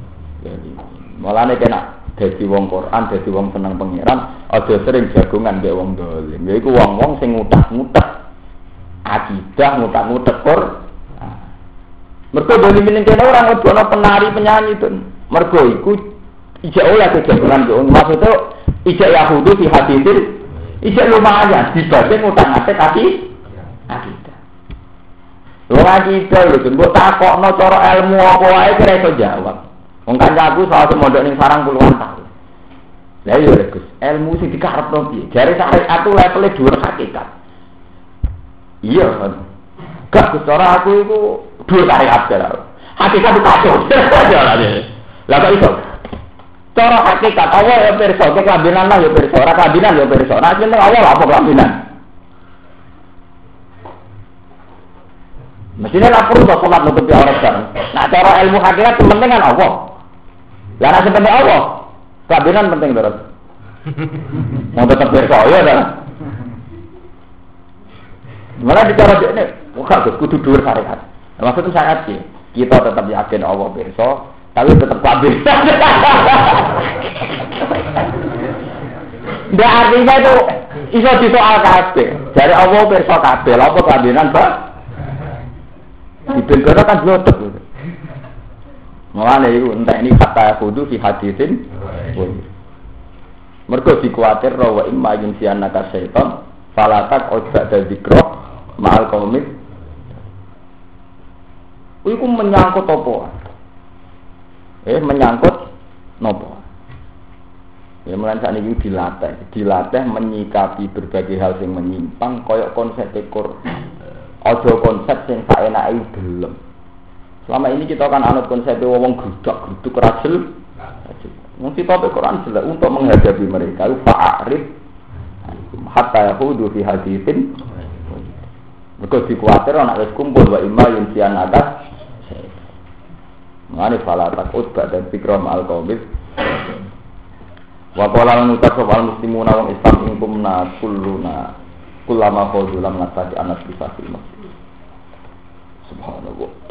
Mulane kena dadi wong Quran, dadi wong seneng pangeran, aja sering jagongan mbek wong dolim. Ya iku wong-wong sing ngutak-ngutak akidah, ngutak-ngutak Quran. Mergo dolim ning kene ora ngebono penari penyanyi itu. Mergo iku ijek oleh kejagongan yo. Maksudnya ijek Yahudi di hadisin ijek lumayan dibanding ngutak-ngutak akidah. Lho akidah lho mbok takokno cara ilmu apa wae kira iso jawab. Wong kancaku salah mondok ning sarang puluhan tahun. Lah iya Gus, ilmu sing dikarepno piye? Jare syariat itu levele dhuwur hakikat. Iya kan. Gak cara aku iku dhuwur syariat jare. Hakikat itu kacau. Lah kok iso? Cara hakikat Allah ya pirsa, kelambinan lah ya pirsa, ora kelambinan ya pirsa. Nek jeneng Allah apa kelambinan? Mestinya lah perlu sholat nutupi aurat sekarang. Nah cara ilmu hakikat penting kan Allah. Lah nek penting Allah, kelambinan penting terus. Mau tetap bersoyo dah. Malah bicara ini, bukan kudu dhuwur syariat. Maksudnya syariat sih, kita tetap yakin Allah berso, tapi tetap kambing. Nggak artinya itu Iso disoal kabeh. Jare Allah pirsa kabeh, lha apa kambenan, Pak? Dibengkara kan blotek. Mulane iku entek ini kata kudu fi hadisin. Mergo dikuatir wa imma yunsianaka syaitan falatak ojak dan zikro ma'al qaumit. Iku menyangkut apa? Menyangkut nopo? Ya mulai saat ini dilatih menyikapi berbagai hal yang menyimpang, koyok konsep ekor, ojo konsep yang tak enak itu belum. Selama ini kita kan anut konsep wong geruduk rajel. Mungkin topik Quran jelas untuk menghadapi mereka itu fa'arif hatta yahudu fi hadithin. Mereka dikuatir anak wis kumpul wa imma yunsian atas. Mane fala takut dan fikra ma'al qaumit. Wa qala nutas wal muslimuna wong Islam ingkumna kullama fawzulam nasati anas bisafil masjid. Subhanallah.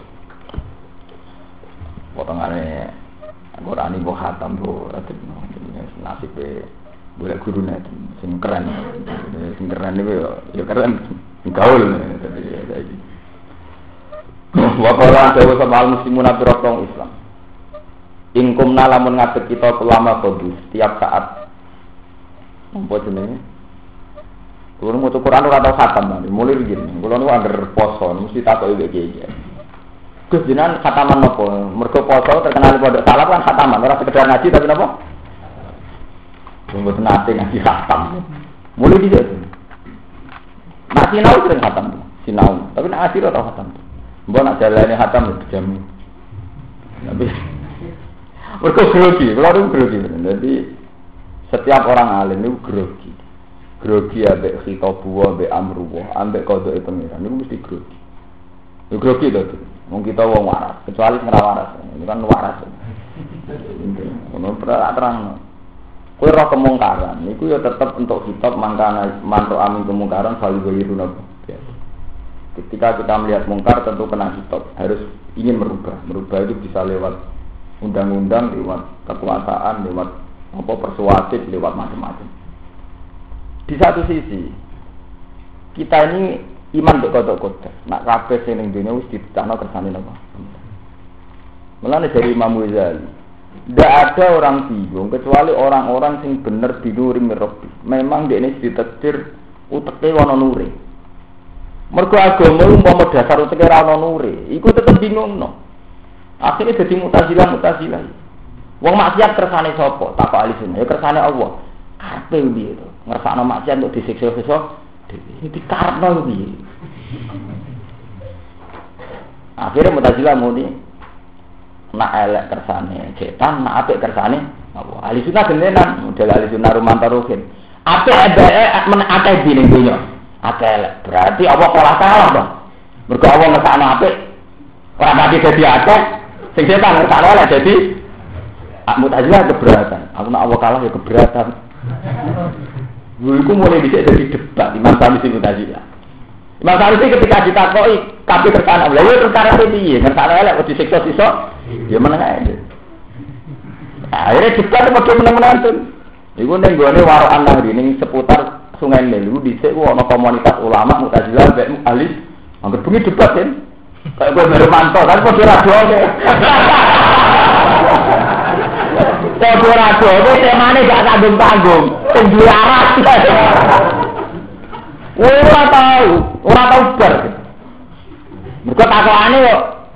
Potongane Quran iku khatam bro, nasib boleh gurune sing keren niku ya keren gaul dadi. Wa qala dawu sama muslimun abirotong Islam. Ingkumna lamun ngadeg kita ulama kudu setiap saat. Apa jenenge? Kulo maca Quran ora tau khatam, mulai begini. Kulo niku angger poso mesti takoki iki iki. Gus jenengan khataman napa? Mergo poso terkenal pondok salaf kan khataman, ora sekedar ngaji tapi napa? Mboten nate ngaji khatam. Mulai dhisik. Nek sinau sering khatam, sinau, tapi nek ngaji ora tau khatam. Mbok nek jalane khatam dijamu. Tapi mergo grogi, kalau itu grogi. Jadi setiap orang alim itu grogi. Grogi ambek khitabuwa, ambek amruwa, ambek qadha pengiran itu mesti grogi. Itu grogi to. Wong kita wong waras, kecuali sing ora waras. Ini kan waras. Ono terang. Kowe ora kemungkaran, niku ya tetep untuk kitab mangkana mantuk amin kemungkaran selalu goyiruna. Ketika kita melihat mungkar tentu kena kitab, harus ingin merubah. Merubah itu bisa lewat undang-undang, lewat kekuasaan, lewat persuasif, lewat macam-macam. Di satu sisi kita ini iman mbek kodok-kodok. Nak kabeh sing ning dunya wis ditetapno kersane napa. Mulane dari Imam Ghazali, ndak ada orang bingung kecuali orang-orang sing bener dinuri mirrobi. Memang dekne ditakdir uteke ana nure. Mergo agama umpama dasar uteke ora ana nure, iku tetep bingungno. Akhirnya jadi mutazilah. Wong maksiat kersane sapa? Takok ahli sunnah. Ya kersane Allah. Karepe piye to? Ngersakno maksiat untuk disiksa-siksa dhewe. Dikarepno piye? Akhirnya mutazilah muni nak elek kersane setan, nak apik kersane Allah. Ahli sunnah genenan, model ahli sunnah rumantaruhin. Apik ada akeh dine dunya. Akeh elek. Berarti Allah kalah dong. Mergo Allah ngersakno apik ora pati dadi akeh. Sing setan ngersakno elek dadi mutazilah keberatan. Aku nak Allah kalah ya keberatan. Iku mulai dhisik dadi debat Imam Sanusi mutazilah. Imam Sanusi ketika ditakoki kabeh kersane Allah, ya perkara piye? Ngersakno elek kok disiksa-siksa? Ya meneng ae. Akhirnya debat padha meneng-meneng. Iku ning gone warokan nang ning seputar Sungai Nil iku dhisik ana komunitas ulama mutazilah mek ahli anggere bengi debat kan. Kayak kowe Hermanto kan padha radoke. Padha radoke temane gak tanggung-tanggung, sing duwe arah. Ora tau bar. Mergo takokane kok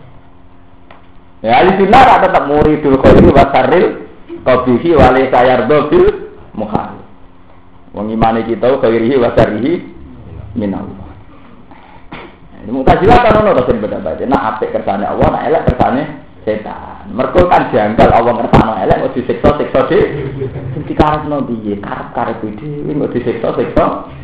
ya ahli sunnah tak tetap muridul khairi wa sarril qabihi wa la sayardu bil mukhal. Wong imane kita khairihi wa sarrihi minallah. Ini mutazilah kan ono to sing beda-beda. Nek apik kersane Allah, nek elek kersane setan. Mergo kan janggal Allah ngersakno elek kok disiksa-siksa dhewe. Sing dikarepno piye? Karep dhewe kok disiksa-siksa.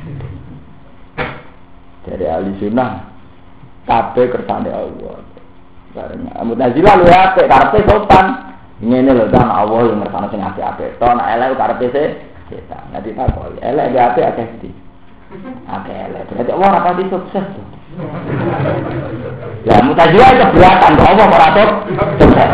Dari ahli sunnah kabeh kersane Allah. Bareng mutazilah luwe apik karepe sopan. Ngene lho kan Allah yang ngersakno sing apik-apik. To nek elek karepe setan. Nek ditakoki elek ya apik akeh di. Akeh elek. Berarti Allah ora pati sukses. Ya mutazilah keberatan kok Allah ora sukses.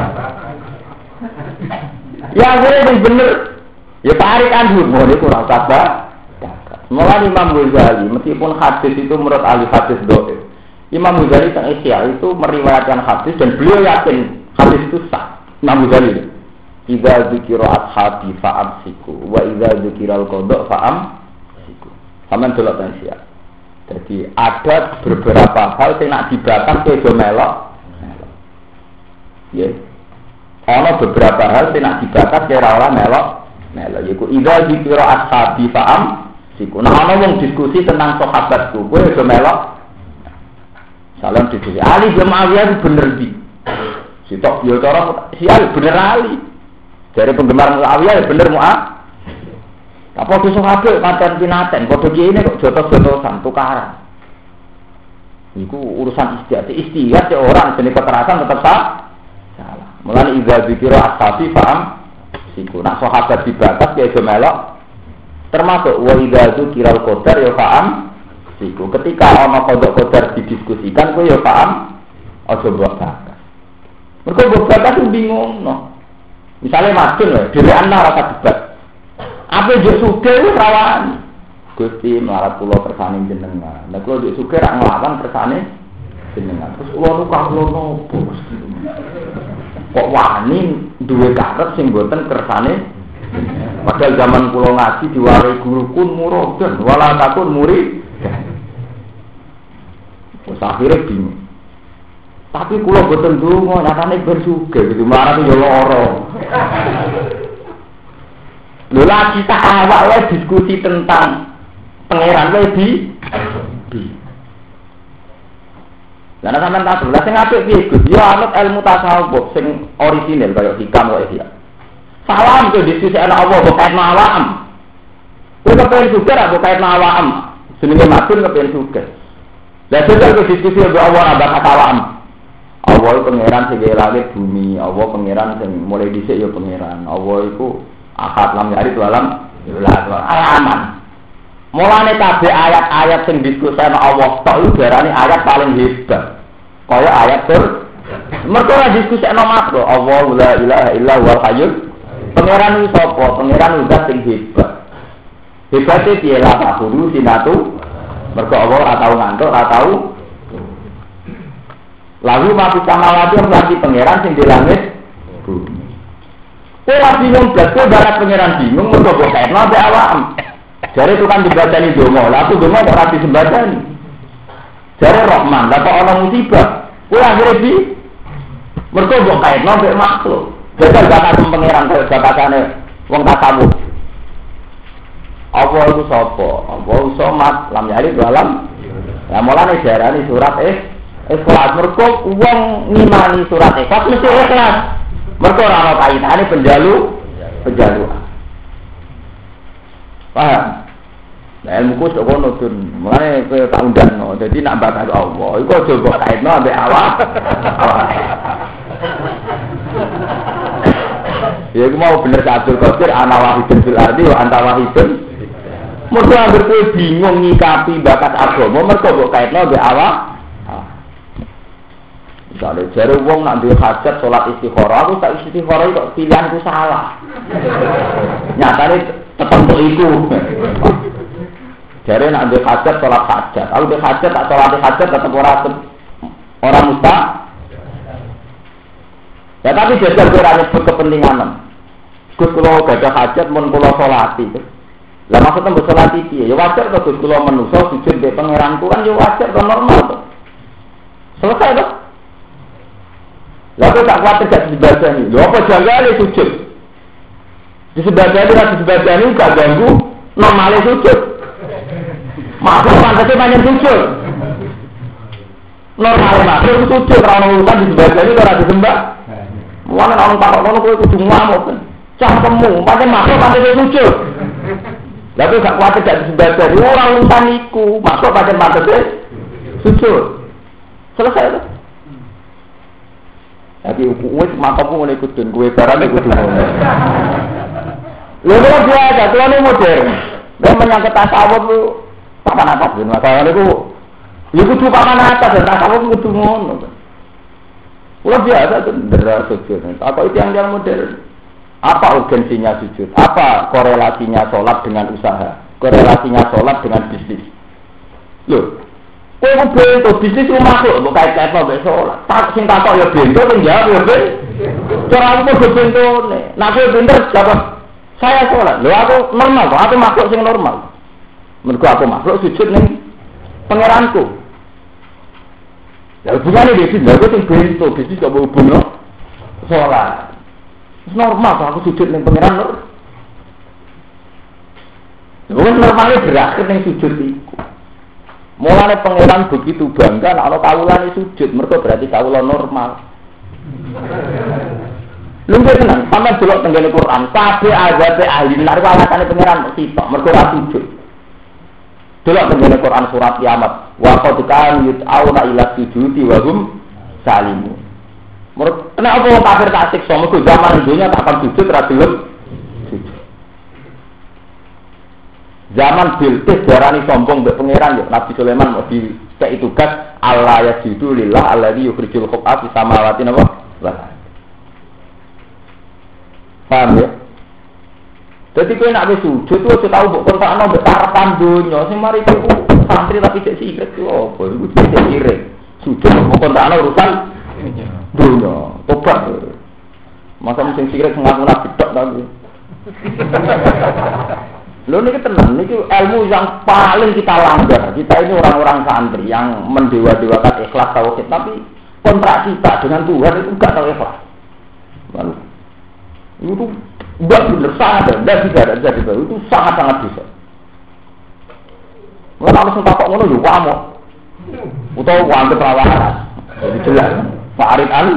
Ya gue bener. Ya tarik kan dulu, niku ora usah Mulai Imam Ghazali, meskipun hadis itu menurut ahli hadis dhaif, Imam Ghazali teng Ihya itu meriwayatkan hadis dan beliau yakin hadis itu sah. Imam Ghazali, "Idza dzikira ashabi fa'amsiku wa idza dzikira al-qada fa'amsiku." Sampeyan delok teng Ihya. Jadi ada beberapa hal sing nak dibakar ke do melok. Ya. Ana beberapa hal sing nak dibakar ke ora melok. Yaiku idza dzikira ashabi fa'amsiku. Nah ana wong diskusi tentang sahabatku, kowe do melok. Salam diskusi. Ali bin Muawiyah bener di. Sitok yo cara si Ali bener Ali. Dari penggemar Muawiyah bener Muawiyah. Apa dosa kabeh pancen pinaten, padha kene kok jotos-jotosan tukaran. Iku urusan istihad ya orang jenis kekerasan tetap salah. Mulane idza dzikira ashabi faham siku. Nak sahabat dibatas ya aja melok. Termasuk wa idza dzikira al-qadar ya faham siku. Ketika ana kodok-kodar didiskusikan kowe ya paham aja mbok bakas. Mergo mbok bakas bingung no. Misale madun lho, dhewean ora debat. Apa yo sugih wis rawan. Gusti melarat kula kersane jenengan. Nek kula yo sugih ra nglawan kersane jenengan. Terus kula kula nopo Gusti. Kok wani duwe karep sing mboten kersane. Padahal zaman kula ngaji diwarai guru kun muridun wala takun murid. Wes akhire bingung. Tapi kula boten ndonga, nyatane ben sugih gitu, marane yo lara. Lho lah kita awak wae diskusi tentang pangeran wae di. Lah nek sampean tak lha sing apik piye Gus? Ya anut ilmu tasawuf sing orisinil kaya hikam wae dia. Salam ke diskusi ana Allah kok ana awam. Kowe kepen sugih ra kok ana awam. Jenenge matun kepen sugih. Lah jajal ke diskusi ambek Allah abad awam. Allah pangeran sing langit bumi, Allah pangeran sing mulai dhisik ya pangeran. Allah iku akad lam yari dalam alaman. Mulane kabeh ayat-ayat sing diskusen Allah tok iku diarani ayat paling hebat. Kaya ayat mergo ora diskusen makhluk. Allah la ilaha illa huwal hayyul. Pangeran iki sapa? Pangeran zat sing hebat. Hebate piye la takuru sinatu? Mergo Allah ora tau ngantuk, ora tau. Lalu mati samawati lagi pangeran sing di langit bumi. Kowe bingung blas kowe barat pangeran bingung mergo kok kaitno ambek awam. Jare tukang dibacani donga, lha aku donga kok ora disembadani. Jare Rahman, lha kok ana musibah. Kowe akhire di mergo kok kaitno ambek makhluk. Jajal bakat pangeran kaya bakatane wong tasawuf. Apa iku sapa? Apa somat lam yalid walam. Lah mulane diarani surat Ikhlas. Mergo wong ngimani surat Ikhlas mesti ikhlas. Mergo ora ana kaitane penjaluan. Paham? Lah ilmuku sok ngono tun. Mulane kowe tak undangno. Dadi nak bakat Allah, iku aja mbok kaitno ambek awak. Ya iku mau bener Abdul Qadir ana wahidun fil ardi wa anta wahidun. Mergo anggere kowe bingung nyikapi bakat agama, mergo mbok kaitno ambek awak. Misalnya, jari wong nak duwe hajat sholat istikharah, aku tak istikharah kok pilihanku salah. Nyatane tetep iku. Jari nak duwe hajat sholat hajat, aku duwe hajat tak sholat hajat tetep ora mustah. Ya tapi jajal ora nyebut kepentingan. Gus kula gadah hajat mun kula sholati. Lah maksudnya mbok sholati piye? Ya wajar to Gus kula menungso sujud mbek pangeranku kan ya wajar to normal to. Selesai to. Lalu tak khawatir gak disebadani. Lho apa janggane sujud? Disebadani ra disebadani gak ganggu normale sujud. Makhluk pantasnya banyak sujud. Normale makhluk sujud ora ono urusan disebadani ora disembah. Mulane orang takok ngono kowe kudu ngamuk. Cangkemmu, pancen makhluk pantasnya sujud. Lalu gak khawatir gak disebadani ora urusan iku. Makhluk pancen pantasnya sujud. Selesai itu. Tapi wis matamu ngene kudun kowe barane kudu ngono. Lha kok biasa, kelane modern. Dan menyangkut tasawuf lu papan atas ben masalah niku. Ya kudu papan atas, tasawuf kudu ngono. Ora biasa tuh ndera sujud. Apa itu yang modern? Apa urgensinya sujud? Apa korelasinya sholat dengan usaha? korelasinya sholat dengan bisnis. Loh, kowe kok bento bisnis lu masuk kok kait-kait mbek sholat. Tak sing takok ya bento sing jawab ya ben. Cara aku kok bentone. Nek kowe pinter jawab saya sholat. Lho aku normal kok, aku makhluk sing normal. Mergo aku makhluk sujud ning pangeranku. Ya hubungane bisnis, lha kok sing bento bisnis kok hubungno sholat. Normal kok aku sujud ning pangeran lho. Normalnya berakhir ning sujud iku. Mulane pangeran begitu bangga nek ana kawulane sujud, mergo berarti kawula normal. Lungguh tenan, sampeyan delok tenggene Quran, kabeh azab ahli neraka alasane pangeran sitok, mergo ora sujud. Delok tenggene Quran surat Kiamat, wa qad kan yut'auna ila sujudi wa hum salimun. Mergo nek apa wong kafir tak siksa, mergo zaman dunya tak akan sujud ora gelem sujud. Zaman Bilqis darani sombong mbek pangeran yo Nabi Sulaiman mau dicek tugas Allah yajidu lillah alladzi yukhrijul khab'a fi samawati napa? Paham ya? Jadi kowe nek wis sujud tuh aja tau mbok kontakno mbek karepan donya sing mari iku santri tapi cek sirik ku apa iku cek sirik. Sujud mbok kontakno urusan donya. Tobat. Masa sing sirik ngaku nabi tok ta. Lho niki tenan niki ilmu yang paling kita langgar. Kita ini orang-orang santri yang mendewa-dewakan ikhlas tauhid, tapi kontrak kita dengan Tuhan itu enggak tahu ikhlas. Lalu itu enggak benar sadar, enggak bisa itu sangat-sangat bisa. Mulai harus takok ngono yo wae. Utawa wong perawahan. Jadi jelas. Fa'arid an.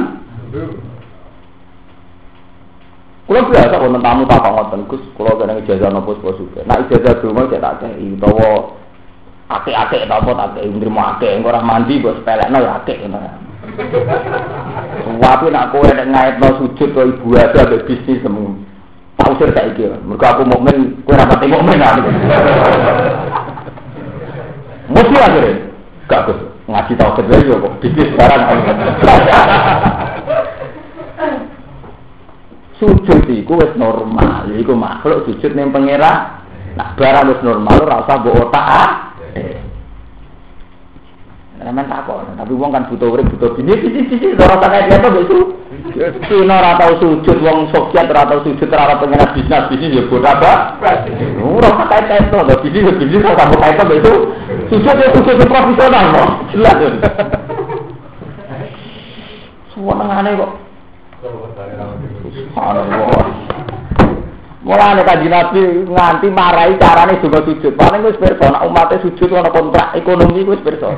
Kalau biasa wonten tamu tak ngoten Gus, kalau kadang ijazah nopo suka. Nah ijazah dulu cek tak kei, utawa akeh-akeh ta apa tak kei nrimo akeh, engko ora mandi kok sepelekno ya akeh ngono. Wae nek kowe nek ngaitno sujud kok ibu ada mbek bisnis semu. Tak usir saiki, mergo aku mukmin, kowe ora pati mukmin ah. Mesti akhire. Gak Gus, ngaji tauhid wae yo kok bisnis barang. Sujud iku wis normal, iku makhluk sujud ning pangeran. Nah, barang wis normal ora usah mbok otak Nemen takon, tapi wong kan butuh urip, butuh bisnis ora tak kaya apa itu. Sino ora tau sujud wong Soviet ora tau sujud ora pangeran bisnis ya bodoh apa? Ora tak kaya itu, bisnis ora tak kaya itu. Sujud profesional kok. Jelas. Suwenengane kok. Subhanallah. Mulane kanjeng Nabi nganti marahi carane donga sujud. Paling wis pirsa nek umate sujud ana kontrak ekonomi wis pirsa.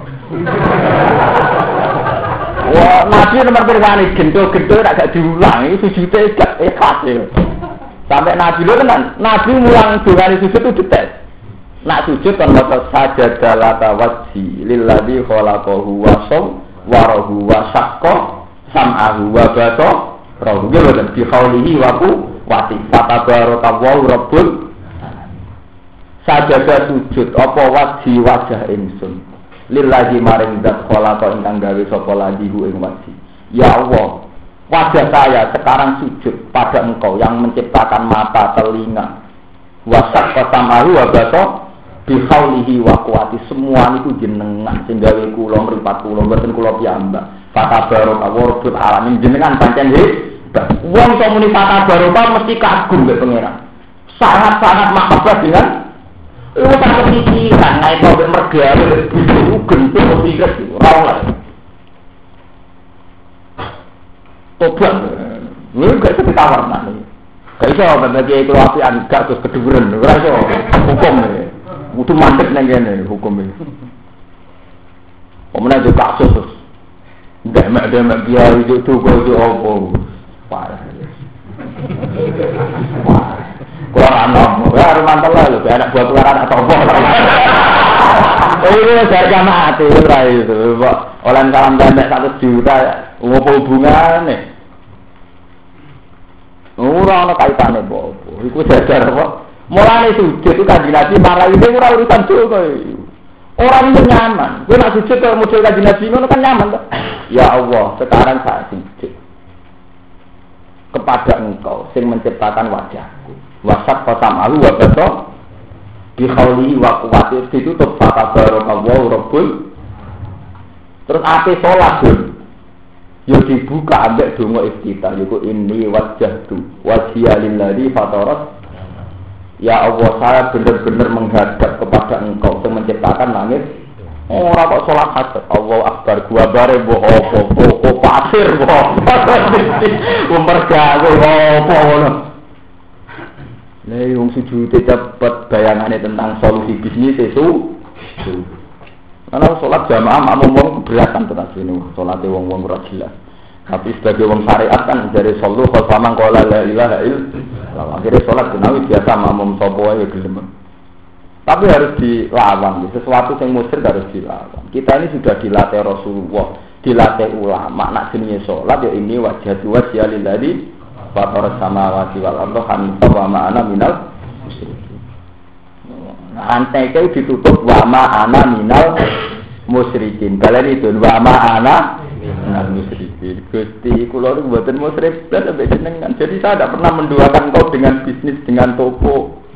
Wah, Nabi nomor pirane gento-gento nek gak diulang iki sujude gak ikhlas ya. Sampai Nabi lho tenan, Nabi mulang dongane sujud itu detail. Nak sujud kan maca sajadalah tawajji lilladzi khalaqahu wa sawwarahu wa syaqqa sam'ahu wa basarahu. Rawu dan bi khaulihi wa quwwati fatabarakallahu rabbul sajada sujud apa wajah ingsun lillahi maring zat khalaqa ingkang gawe sapa lajihu ing wajhi. Ya Allah, wajah saya sekarang sujud pada Engkau yang menciptakan mata, telinga, wasak qasamahu wa basarahu bi khaulihi wa quwwati. Semua niku jenengan sing gawe kula mripat kula mboten kula piyambak. Fatabarakallahu rabbul alamin jenengan pancen wong kok muni fatabaraka mesti kagum mbek pangeran. Sangat-sangat mahabbah dengan lu tak kepikiran naik mobil mergane itu gentul mesti kres ora oleh. Tobat. Lu gak iso ditawar nang. Gak iso bagi kula apian gak terus keduren ora iso hukum iki. Kudu mandek nang kene hukum iki. Pemenang itu kasus. Demek biar itu itu apa? Parah. Wah. Kurang anom. Ya mantel lho, anak buah keluaran atau apa. Ini harga mati ora itu, Pak. Olan salam pendek 1 juta, ngopo hubungane? Ora ana kaitane apa. Iku jajar apa? Mulane sujud itu kanjeng Nabi marah itu ora urusan dosa iki. Orang itu nyaman. Gue nak sujud kalau muncul kajian Nabi itu kan nyaman tuh. Ya Allah, sekarang saya sujud kepada Engkau, sing menciptakan wajahku. Wasat kotam alu wabato. bi khawli wa quwwati ditutup tabarakallahu rabbul. Terus ate salat yo dibuka ambek donga iftitah yaiku inni wajjahtu wajhiya lillazi fatarat. Ya Allah, saya benar-benar menghadap kepada Engkau yang menciptakan langit. Ora kok salat hajat. Allahu akbar gua bare mbok apa pasir mbok. Umpergawe apa ngono. Nek wong sujud cepet bayangane tentang solusi bisnis itu. Karena salat jamaah makmum wong keberatan tenan sini. Salate wong-wong ora jelas. Tapi sebagai wong syariat kan dari sallu khalfamang qala la ilaha illallah. Akhirnya salat jenawi biasa makmum sapa wae gelem. Tapi harus dilawan, sesuatu yang musyrik harus dilawan. Kita ini sudah dilatih Rasulullah, dilatih ulama. Nak jenenge salat ya ini wajhatu wajhiya lillazi fatara samawati wal arda hanifan wa ma ana minal musyrikin. Rantai itu ditutup wa ma ana minal musyrikin. Kalian itu wa ma ana minal musyrikin. Gusti kula niku mboten musyrik blas sampai jenengan. Jadi saya tidak pernah menduakan kau dengan bisnis, dengan toko.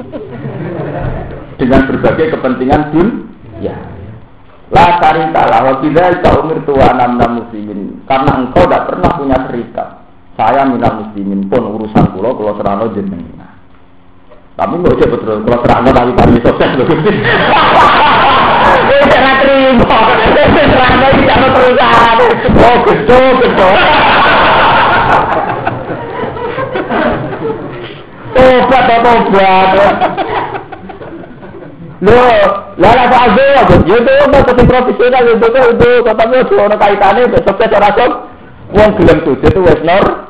Dengan berbagai kepentingan dunia. La syarika lah wa bidzalika umirtu wa ana minal muslimin. Karena engkau tidak pernah punya serikat. Saya minal muslimin pun urusan kula serano jenengan. Tapi enggak aja betul kula serano tapi kami sukses lho. Ora terima. Serano iki ana perusahaan. Oh, betul. Tobat. Lah Pak Azul, yo itu masih profesional itu, tapi ono kaitane sukses ora sok. Wong gelem sujud itu wis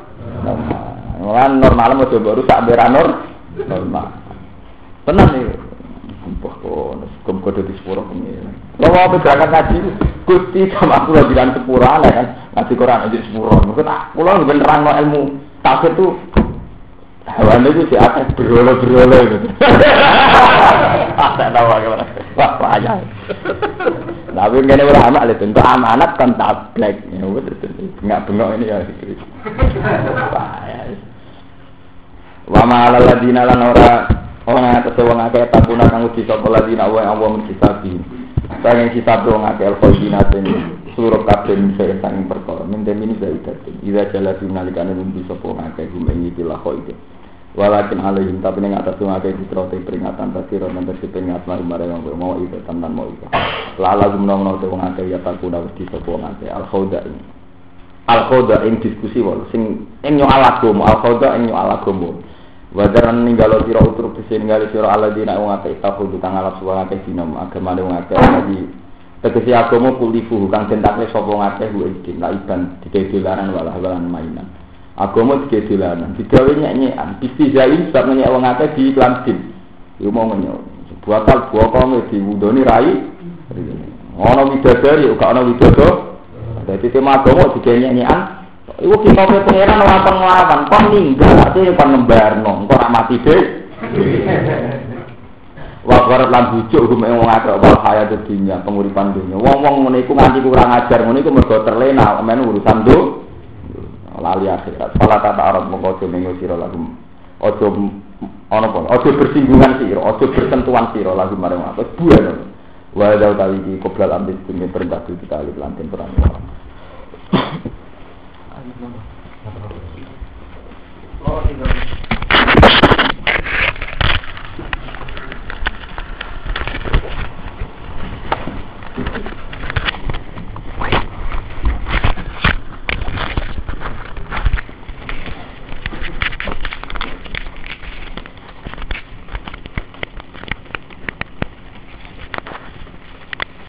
normal mesti baru sak beranor normal. Tenan iki. Kumpul kode di sepuro pengen. Lo mau berangkat ngaji, Gusti sama aku lagi kan sepuro kan, ngaji Quran aja sepuro. Mungkin aku lo beneran no ilmu tafsir tuh. Hawane itu si atas berolo gitu. Tak tahu bagaimana. Wah, payah. Tapi ngene ora anak lho, untuk amanat kan tablek. Ya wis bengak-bengok ini ya gitu. Payah. Wa ma alal ladina lan ora wong akeh takuna kang uji sapa ladina wa awam kisabi. Pengen kitab wong akeh al-qadinatin suruh kabeh sing perkara. Minten ini zaidatin. Ida jalati nalikane uji sapa akeh gumengi tilakho iki. Walakin alaihim tapi ning atas wong akeh ditrote peringatan tasira nang peringatan marang wong mau itu tenan mau itu. Lala gumno-gumno wong akeh ya takuna wedi sapa wong akeh al-khawda ing diskusi wae sing ing yo alagomo al-khawda ing yo alagomo. Wadaran ninggalo sira utruk disengali sira aladina wong akeh tahudu kang alap wong akeh dinam agama wong akeh dadi tegese agama kulifu kang dentakne sapa wong akeh iki laiban dikedelaran walah-walan mainan. Agama dikedelaran digawe nyanyian istizain sebab nyek wong akeh di iklan din. Iku mau ngenyo. Buatal buakane diwundoni rai. Ono widadari uga ono widodo. Dadi tema agama digawe nyanyian. Iku kita pengeran ora nglawan, kon ninggal ate kon nembarno, engko ora mati dhewe. Wa qarat lan bujuk hukum wong akeh wal hayat dunya, penguripan dunya. Wong-wong ngene iku nganti kurang ajar, ngene iku mergo terlena men urusan lali akhirat. Fala ta arab mongko aja mengo sira lagu. Aja ana apa? Aja bersinggungan sira, aja bersentuhan sira lagu marang apa bulan. Wa dal kali iki qoblal ambis dunya perintah kita kali lanten perang. Oh,